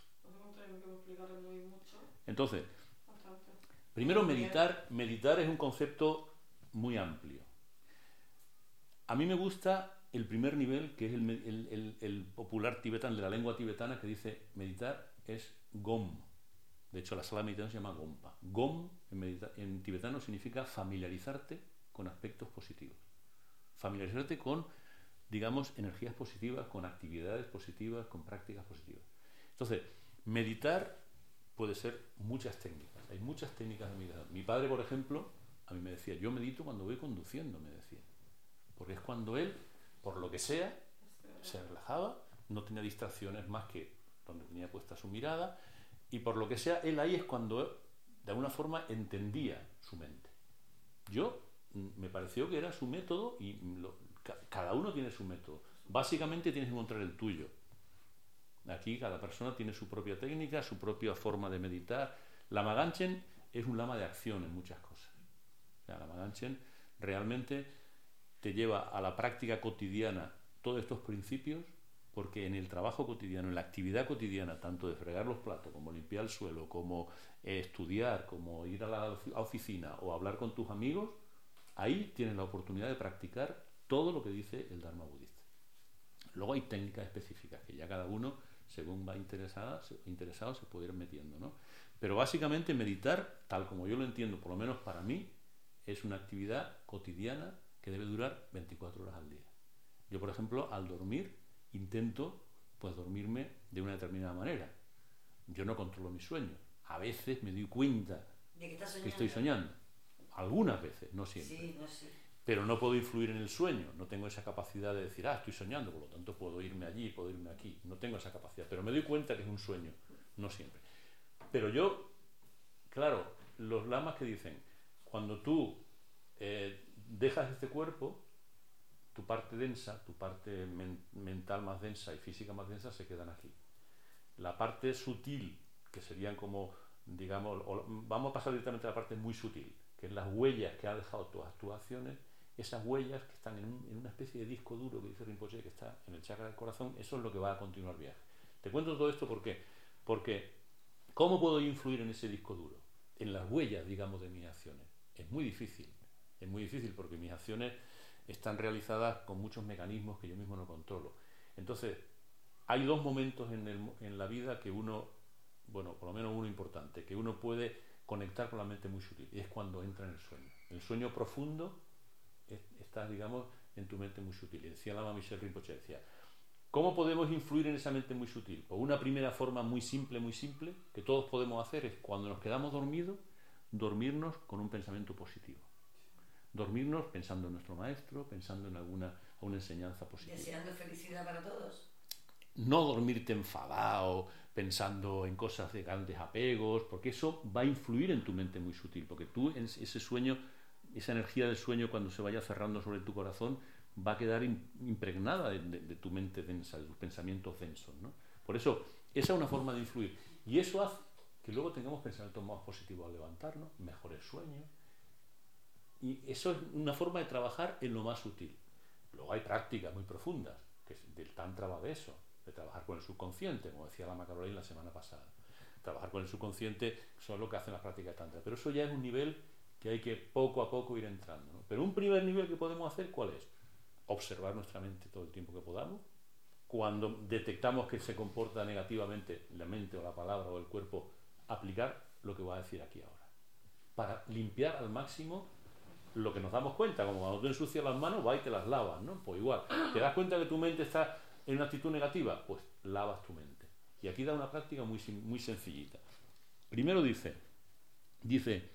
Entonces, primero meditar, meditar es un concepto muy amplio. A mí me gusta el primer nivel, que es el, el, el, el popular tibetano, de la lengua tibetana, que dice meditar es gom. De hecho, la sala de meditación se llama gompa. Gom en, medita- en tibetano significa familiarizarte con aspectos positivos. Familiarizarte con, digamos, energías positivas, con actividades positivas, con prácticas positivas. Entonces, meditar puede ser muchas técnicas. Hay muchas técnicas de meditación. Mi padre, por ejemplo, a mí me decía, yo medito cuando voy conduciendo, me decía. Porque es cuando él, por lo que sea, se relajaba, no tenía distracciones más que donde tenía puesta su mirada, y por lo que sea, él ahí es cuando, de alguna forma, entendía su mente. Yo, me pareció que era su método, y lo, ca- cada uno tiene su método. Básicamente tienes que encontrar el tuyo. Aquí cada persona tiene su propia técnica, su propia forma de meditar. Lama Ganchen es un lama de acción en muchas cosas. O sea, Lama Ganchen realmente te lleva a la práctica cotidiana todos estos principios, porque en el trabajo cotidiano, en la actividad cotidiana, tanto de fregar los platos, como limpiar el suelo, como eh, estudiar, como ir a la ofi- a oficina o hablar con tus amigos, ahí tienes la oportunidad de practicar todo lo que dice el Dharma budista. Luego hay técnicas específicas que ya cada uno, según va interesada, se, interesado, se puede ir metiendo, ¿no? Pero básicamente meditar, tal como yo lo entiendo, por lo menos para mí, es una actividad cotidiana que debe durar veinticuatro horas al día. Yo, por ejemplo, al dormir, intento pues dormirme de una determinada manera. Yo no controlo mis sueños. A veces me doy cuenta ¿De qué estás soñando? que estoy soñando. Algunas veces, no siempre. Sí, no sé. Pero no puedo influir en el sueño. No tengo esa capacidad de decir, ah, estoy soñando, por lo tanto puedo irme allí, puedo irme aquí. No tengo esa capacidad. Pero me doy cuenta que es un sueño. No siempre. Pero yo, claro, los lamas que dicen, cuando tú eh, dejas este cuerpo, tu parte densa, tu parte men- mental más densa y física más densa se quedan aquí. La parte sutil, que serían como, digamos, o- vamos a pasar directamente a la parte muy sutil, que es las huellas que han dejado todas tus acciones, esas huellas que están en, un- en una especie de disco duro que dice Rinpoche, que está en el chakra del corazón, eso es lo que va a continuar el viaje. Te cuento todo esto ¿por qué? Porque ¿cómo puedo influir en ese disco duro? En las huellas, digamos, de mis acciones. Es muy difícil, es muy difícil porque mis acciones están realizadas con muchos mecanismos que yo mismo no controlo. Entonces, hay dos momentos en, el, en la vida que uno, bueno, por lo menos uno importante, que uno puede conectar con la mente muy sutil, y es cuando entra en el sueño. El sueño profundo, es, estás, digamos, en tu mente muy sutil. Y decía Lama Michel Rinpoche, decía, ¿cómo podemos influir en esa mente muy sutil? Pues una primera forma muy simple, muy simple, que todos podemos hacer es cuando nos quedamos dormidos, dormirnos con un pensamiento positivo. Dormirnos pensando en nuestro maestro, pensando en alguna, alguna enseñanza positiva. Deseando felicidad para todos. No dormirte enfadado, pensando en cosas de grandes apegos, porque eso va a influir en tu mente muy sutil, porque tú, en ese sueño, esa energía del sueño, cuando se vaya cerrando sobre tu corazón, va a quedar impregnada de, de, de tu mente densa, de tus pensamientos densos, ¿no? Por eso, esa es una forma de influir. Y eso hace que luego tengamos pensamientos más positivos al levantarnos, mejores sueños. Y eso es una forma de trabajar en lo más sutil. Luego hay prácticas muy profundas, que es del Tantra va de eso, de trabajar con el subconsciente, como decía la Macarolina la semana pasada. Trabajar con el subconsciente son lo que hacen las prácticas de Tantra. Pero eso ya es un nivel que hay que poco a poco ir entrando, ¿no? Pero un primer nivel que podemos hacer, ¿cuál es? Observar nuestra mente todo el tiempo que podamos. Cuando detectamos que se comporta negativamente la mente o la palabra o el cuerpo, aplicar lo que voy a decir aquí ahora. Para limpiar al máximo lo que nos damos cuenta, como cuando tú ensucias las manos, vas y te las lavas, ¿no? Pues igual, ¿te das cuenta que tu mente está en una actitud negativa? Pues lavas tu mente. Y aquí da una práctica muy, muy sencillita. Primero dice, dice,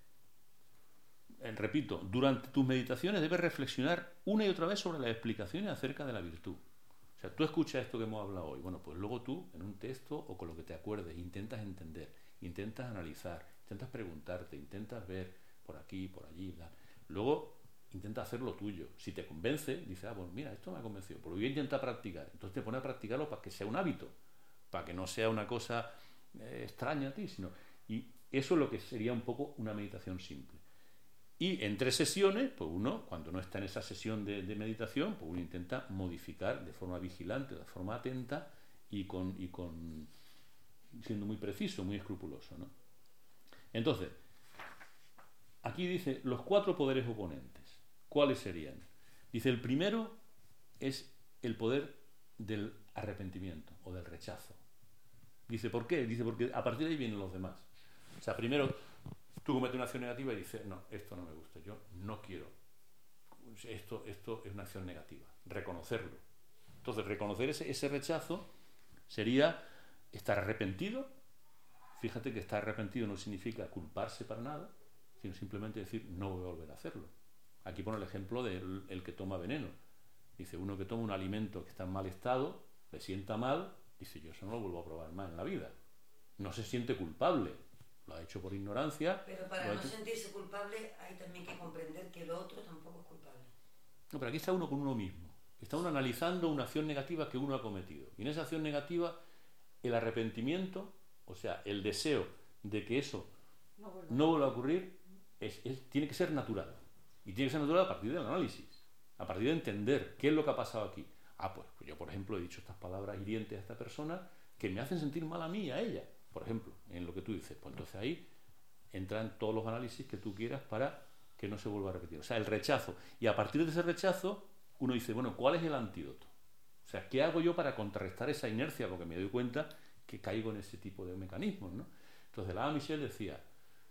eh, repito, durante tus meditaciones debes reflexionar una y otra vez sobre las explicaciones acerca de la virtud. O sea, tú escuchas esto que hemos hablado hoy, bueno, pues luego tú, en un texto o con lo que te acuerdes, intentas entender, intentas analizar, intentas preguntarte, intentas ver por aquí, por allí, bla. Luego intenta hacer lo tuyo. Si te convence, dices, ah, pues mira, esto me ha convencido, pero voy a intentar practicar. Entonces te pones a practicarlo para que sea un hábito, para que no sea una cosa eh, extraña a ti, sino... Y eso es lo que sería un poco una meditación simple. Y en tres sesiones, pues uno, cuando no está en esa sesión de, de meditación, pues uno intenta modificar de forma vigilante, de forma atenta y con, y con siendo muy preciso, muy escrupuloso, ¿no? Entonces, aquí dice los cuatro poderes oponentes. ¿Cuáles serían? Dice, el primero es el poder del arrepentimiento o del rechazo. Dice, ¿por qué? Dice, porque a partir de ahí vienen los demás. O sea, primero tú cometes una acción negativa y dices, no, esto no me gusta, yo no quiero. Esto, esto es una acción negativa. Reconocerlo. Entonces, reconocer ese, ese rechazo sería estar arrepentido. Fíjate que estar arrepentido no significa culparse para nada, sino simplemente decir, no voy a volver a hacerlo. Aquí pone el ejemplo del el que toma veneno. Dice, uno que toma un alimento que está en mal estado, le sienta mal, dice, yo eso no lo vuelvo a probar más en la vida. No se siente culpable. Lo ha hecho por ignorancia. Pero para no hecho... sentirse culpable hay también que comprender que el otro tampoco es culpable. No, pero aquí está uno con uno mismo. Está uno analizando una acción negativa que uno ha cometido. Y en esa acción negativa, el arrepentimiento, o sea, el deseo de que eso no vuelva, no vuelva a ocurrir, es, es, tiene que ser natural. Y tiene que ser natural a partir del análisis, a partir de entender qué es lo que ha pasado aquí. Ah, pues yo, por ejemplo, he dicho estas palabras hirientes a esta persona que me hacen sentir mal a mí y a ella. Por ejemplo, en lo que tú dices, pues entonces ahí entran todos los análisis que tú quieras para que no se vuelva a repetir. O sea, el rechazo. Y a partir de ese rechazo, uno dice, bueno, ¿cuál es el antídoto? O sea, ¿qué hago yo para contrarrestar esa inercia? Porque me doy cuenta que caigo en ese tipo de mecanismos, ¿no? Entonces, la Michelle decía,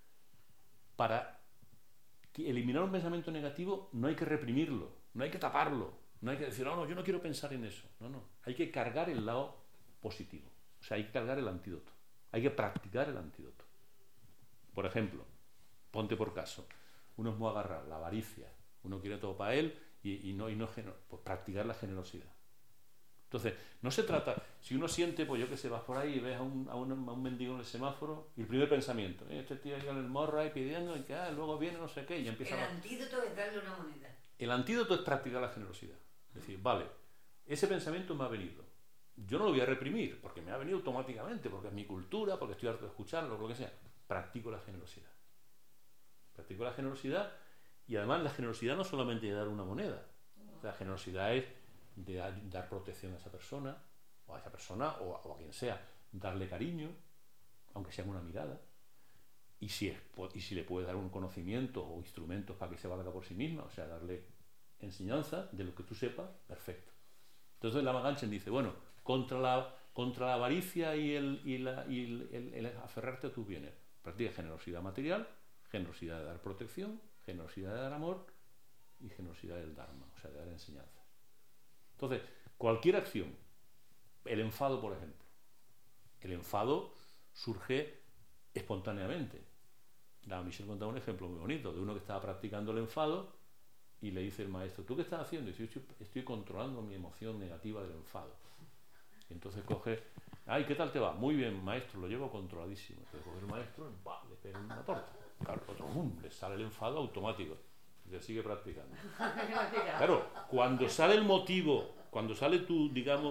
para eliminar un pensamiento negativo no hay que reprimirlo, no hay que taparlo, no hay que decir, no, no, yo no quiero pensar en eso. No, no, hay que cargar el lado positivo. O sea, hay que cargar el antídoto. Hay que practicar el antídoto. Por ejemplo, ponte por caso, uno es muy agarrado, la avaricia, uno quiere todo para él y, y no, y no pues practicar la generosidad. Entonces, no se trata, si uno siente, pues yo que sé, vas por ahí y ves a un, a un, a un mendigo en el semáforo y el primer pensamiento, ¿eh? Este tío ahí con el morro ahí pidiendo y que ah, luego viene no sé qué y empieza el a... antídoto es darle una moneda. El antídoto es practicar la generosidad. Es decir, vale, ese pensamiento me ha venido. Yo no lo voy a reprimir, porque me ha venido automáticamente, porque es mi cultura, porque estoy harto de escucharlo, lo que sea. Practico la generosidad. Practico la generosidad y además la generosidad no solamente de dar una moneda. La generosidad es de dar, dar protección a esa persona, o a esa persona, o a, o a quien sea. Darle cariño, aunque sea una mirada. Y si, es, y si le puedes dar un conocimiento o instrumentos para que se valga por sí misma, o sea, darle enseñanza de lo que tú sepas, perfecto. Entonces Lama Ganchen dice, bueno, contra la, contra la avaricia y, el, y, la, y el, el, el aferrarte a tus bienes, practica generosidad material, generosidad de dar protección, generosidad de dar amor y generosidad del Dharma, o sea, de dar enseñanza. Entonces, cualquier acción, el enfado, por ejemplo, el enfado surge espontáneamente. La Michelle contaba un ejemplo muy bonito de uno que estaba practicando el enfado y le dice el maestro, ¿tú qué estás haciendo? Y dice, yo estoy, estoy controlando mi emoción negativa del enfado. Y entonces coge, ay, ¿qué tal te va? Muy bien, maestro, lo llevo controladísimo. Entonces coge el maestro, ¡bah!, le pega una torta. Claro, otro, ¡bum!, le sale el enfado automático. Y le sigue practicando. Claro, cuando sale el motivo, cuando sale tu, digamos,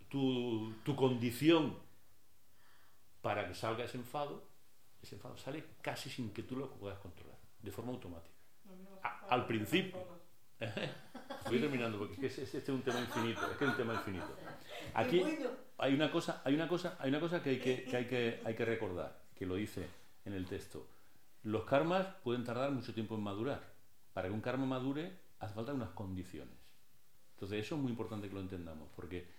tu, tu condición para que salga ese enfado, ese enfado sale casi sin que tú lo puedas controlar, de forma automática. A, al principio. Voy terminando porque es que este es un tema infinito, es que es un tema infinito. Aquí hay una cosa, hay una cosa, hay una cosa que hay que, que hay que hay que recordar, que lo dice en el texto. Los karmas pueden tardar mucho tiempo en madurar. Para que un karma madure hace falta unas condiciones. Entonces eso es muy importante que lo entendamos, porque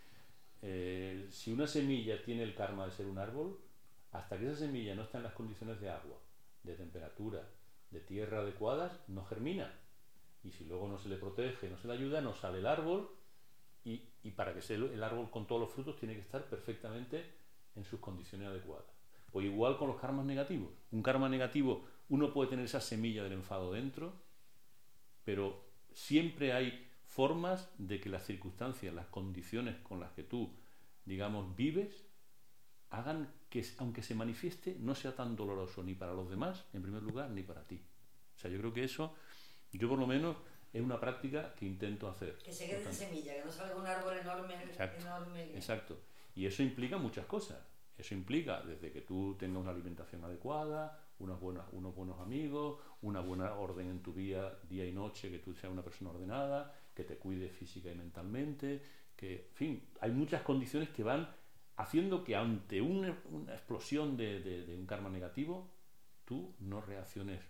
eh, si una semilla tiene el karma de ser un árbol, hasta que esa semilla no está en las condiciones de agua, de temperatura, de tierra adecuadas, no germina. Y si luego no se le protege, no se le ayuda, no sale el árbol, y, y para que sea el árbol con todos los frutos tiene que estar perfectamente en sus condiciones adecuadas. Pues igual con los karmas negativos. Un karma negativo, uno puede tener esa semilla del enfado dentro, pero siempre hay formas de que las circunstancias, las condiciones con las que tú, digamos, vives, hagan que, aunque se manifieste, no sea tan doloroso ni para los demás, en primer lugar, ni para ti. O sea, yo creo que eso, yo por lo menos, es una práctica que intento hacer. Que se quede en semilla, que no salga un árbol enorme. Exacto, enorme. Exacto. Y eso implica muchas cosas. Eso implica desde que tú tengas una alimentación adecuada, unos buenos, unos buenos amigos, una buena orden en tu vida, día y noche, que tú seas una persona ordenada, que te cuides física y mentalmente, que, en fin, hay muchas condiciones que van haciendo que ante una, una explosión de, de, de un karma negativo, tú no reacciones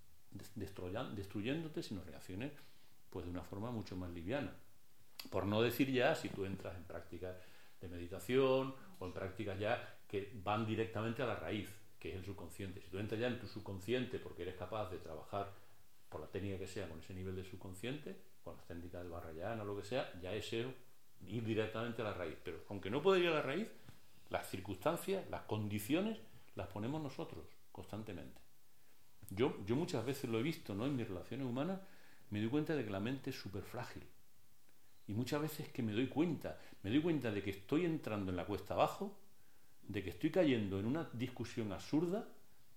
destruyéndote, sino reacciones pues de una forma mucho más liviana. Por no decir ya si tú entras en prácticas de meditación o en prácticas ya que van directamente a la raíz, que es el subconsciente. Si tú entras ya en tu subconsciente porque eres capaz de trabajar por la técnica que sea con ese nivel de subconsciente, con las técnicas del Vajrayana o lo que sea, ya es eso, ir directamente a la raíz. Pero aunque no pueda ir a la raíz, las circunstancias, las condiciones, las ponemos nosotros constantemente. Yo, yo muchas veces lo he visto, ¿no? En mis relaciones humanas me doy cuenta de que la mente es súper frágil. Y muchas veces que me doy cuenta, me doy cuenta de que estoy entrando en la cuesta abajo, de que estoy cayendo en una discusión absurda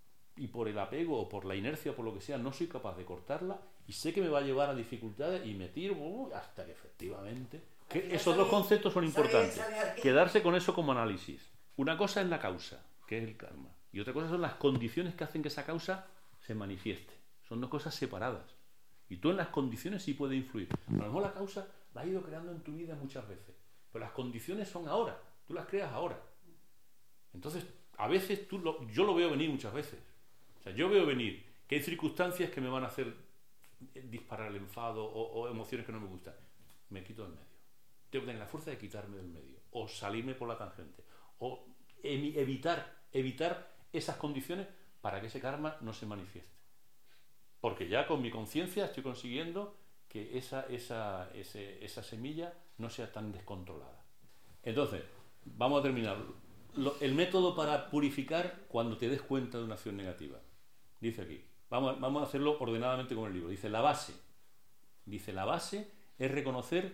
y por el apego o por la inercia o por lo que sea no soy capaz de cortarla y sé que me va a llevar a dificultades y me tiro uh, hasta que efectivamente... Que esos dos conceptos son importantes. Quedarse con eso como análisis. Una cosa es la causa, que es el karma, y otra cosa son las condiciones que hacen que esa causa se manifieste. Son dos cosas separadas. Y tú en las condiciones sí puedes influir. A lo mejor la causa la has ido creando en tu vida muchas veces, pero las condiciones son ahora. Tú las creas ahora. Entonces, a veces tú lo, yo lo veo venir muchas veces. O sea, yo veo venir que hay circunstancias que me van a hacer disparar el enfado o, o emociones que no me gustan. Me quito del medio. Tengo que tener la fuerza de quitarme del medio. O salirme por la tangente. O evitar, evitar esas condiciones para que ese karma no se manifieste. Porque ya con mi conciencia estoy consiguiendo que esa, esa, ese, esa semilla no sea tan descontrolada. Entonces, vamos a terminar. Lo, el método para purificar cuando te des cuenta de una acción negativa. Dice aquí, vamos, vamos a hacerlo ordenadamente con el libro. Dice la base. Dice la base es reconocer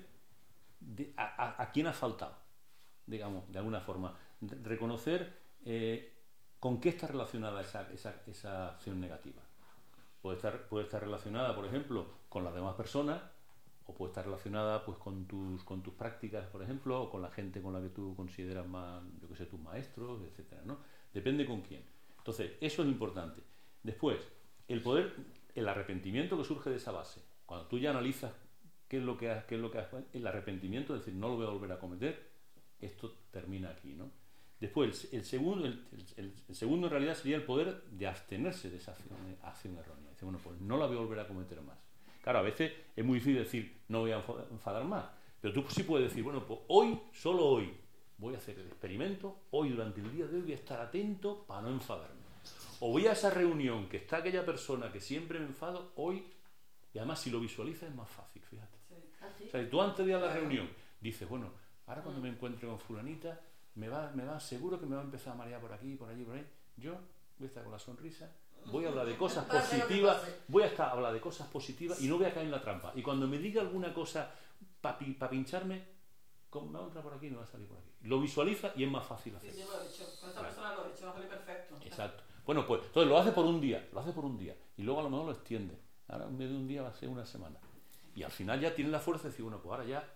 de, a, a, a quién ha faltado, digamos, de alguna forma. Reconocer eh, con qué está relacionada esa, esa, esa acción negativa. Puede estar, puede estar relacionada, por ejemplo, con las demás personas, o puede estar relacionada pues con tus, con tus prácticas, por ejemplo, o con la gente con la que tú consideras más, yo que sé, tus maestros, etcétera, ¿no? Depende con quién. Entonces, eso es importante. Después, el poder, el arrepentimiento que surge de esa base. Cuando tú ya analizas qué es lo que has, qué es lo que has, el arrepentimiento, es decir, no lo voy a volver a cometer, esto termina aquí, ¿no? Después, el, el, segundo, el, el, el segundo en realidad sería el poder de abstenerse de esa acción, acción errónea. Dice, bueno, pues no la voy a volver a cometer más. Claro, a veces es muy difícil decir, no voy a enfadar más. Pero tú sí puedes decir, bueno, pues hoy, solo hoy, voy a hacer el experimento, hoy durante el día de hoy voy a estar atento para no enfadarme. O voy a esa reunión que está aquella persona que siempre me enfado, hoy, y además si lo visualizas es más fácil, fíjate. Sí. ¿Ah, sí? O sea, tú antes de ir a la reunión dices, bueno, ahora cuando me encuentre con fulanita, me va, me va seguro que me va a empezar a marear por aquí, por allí, por ahí. Yo voy a estar con la sonrisa, voy a hablar de cosas positivas, voy a estar a hablar de cosas positivas y no voy a caer en la trampa. Y cuando me diga alguna cosa para pa pincharme, me va a entrar por aquí y me va a salir por aquí. Lo visualiza y es más fácil hacerlo. Sí, yo lo he hecho. Con esta persona lo he hecho, va a salir perfecto. Exacto. Bueno, pues entonces lo hace por un día, lo hace por un día y luego a lo mejor lo extiende. Ahora en vez de un día va a ser una semana. Y al final ya tiene la fuerza de decir, bueno, pues ahora ya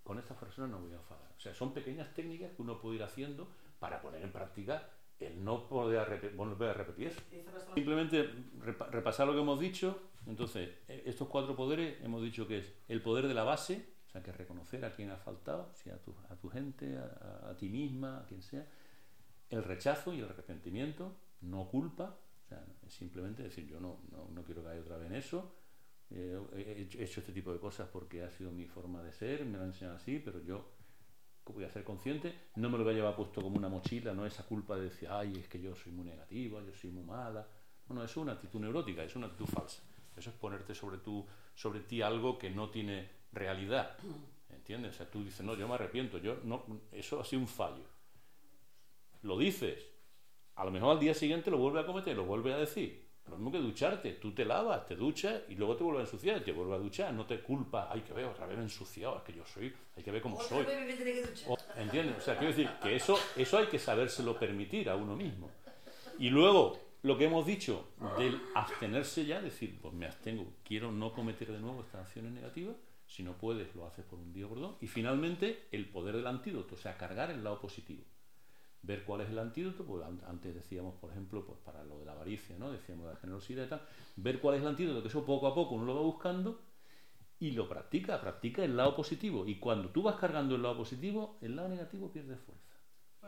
con esta persona no voy a enfadar. O sea, son pequeñas técnicas que uno puede ir haciendo para poner en práctica el no poder rep- volver a repetir eso. Simplemente repa- repasar lo que hemos dicho. Entonces, estos cuatro poderes hemos dicho que es el poder de la base, o sea, que es reconocer a quien ha faltado, si a tu, a tu gente, a, a ti misma, a quien sea. El rechazo y el arrepentimiento, no culpa, o sea, es simplemente decir, yo no, no, no quiero caer otra vez en eso, eh, he hecho este tipo de cosas porque ha sido mi forma de ser, me lo han enseñado así, pero yo voy a ser consciente, no me lo voy a llevar puesto como una mochila, no esa culpa de decir, ay, es que yo soy muy negativa, yo soy muy mala. Bueno, eso es una actitud neurótica, es una actitud falsa. Eso es ponerte sobre, tu, sobre ti algo que no tiene realidad, ¿entiendes? O sea, tú dices, no, yo me arrepiento, yo no, eso ha sido un fallo. Lo dices, a lo mejor al día siguiente lo vuelves a cometer, lo vuelves a decir. Lo mismo que ducharte, tú te lavas, te duchas y luego te vuelves a ensuciar, te vuelves a duchar, no te culpas, hay que ver, otra vez me he ensuciado, es que yo soy, hay que ver cómo soy. Otra vez me tendré que duchar. O, ¿entiendes? O sea, quiero decir que eso, eso hay que sabérselo permitir a uno mismo. Y luego, lo que hemos dicho del abstenerse ya, decir, pues me abstengo, quiero no cometer de nuevo estas acciones negativas, si no puedes, lo haces por un día o por dos. Y finalmente, el poder del antídoto, o sea, cargar el lado positivo. Ver cuál es el antídoto, pues antes decíamos, por ejemplo, pues para lo de la avaricia, ¿no? Decíamos de la generosidad y tal, ver cuál es el antídoto, que eso poco a poco uno lo va buscando y lo practica, practica el lado positivo. Y cuando tú vas cargando el lado positivo, el lado negativo pierde fuerza.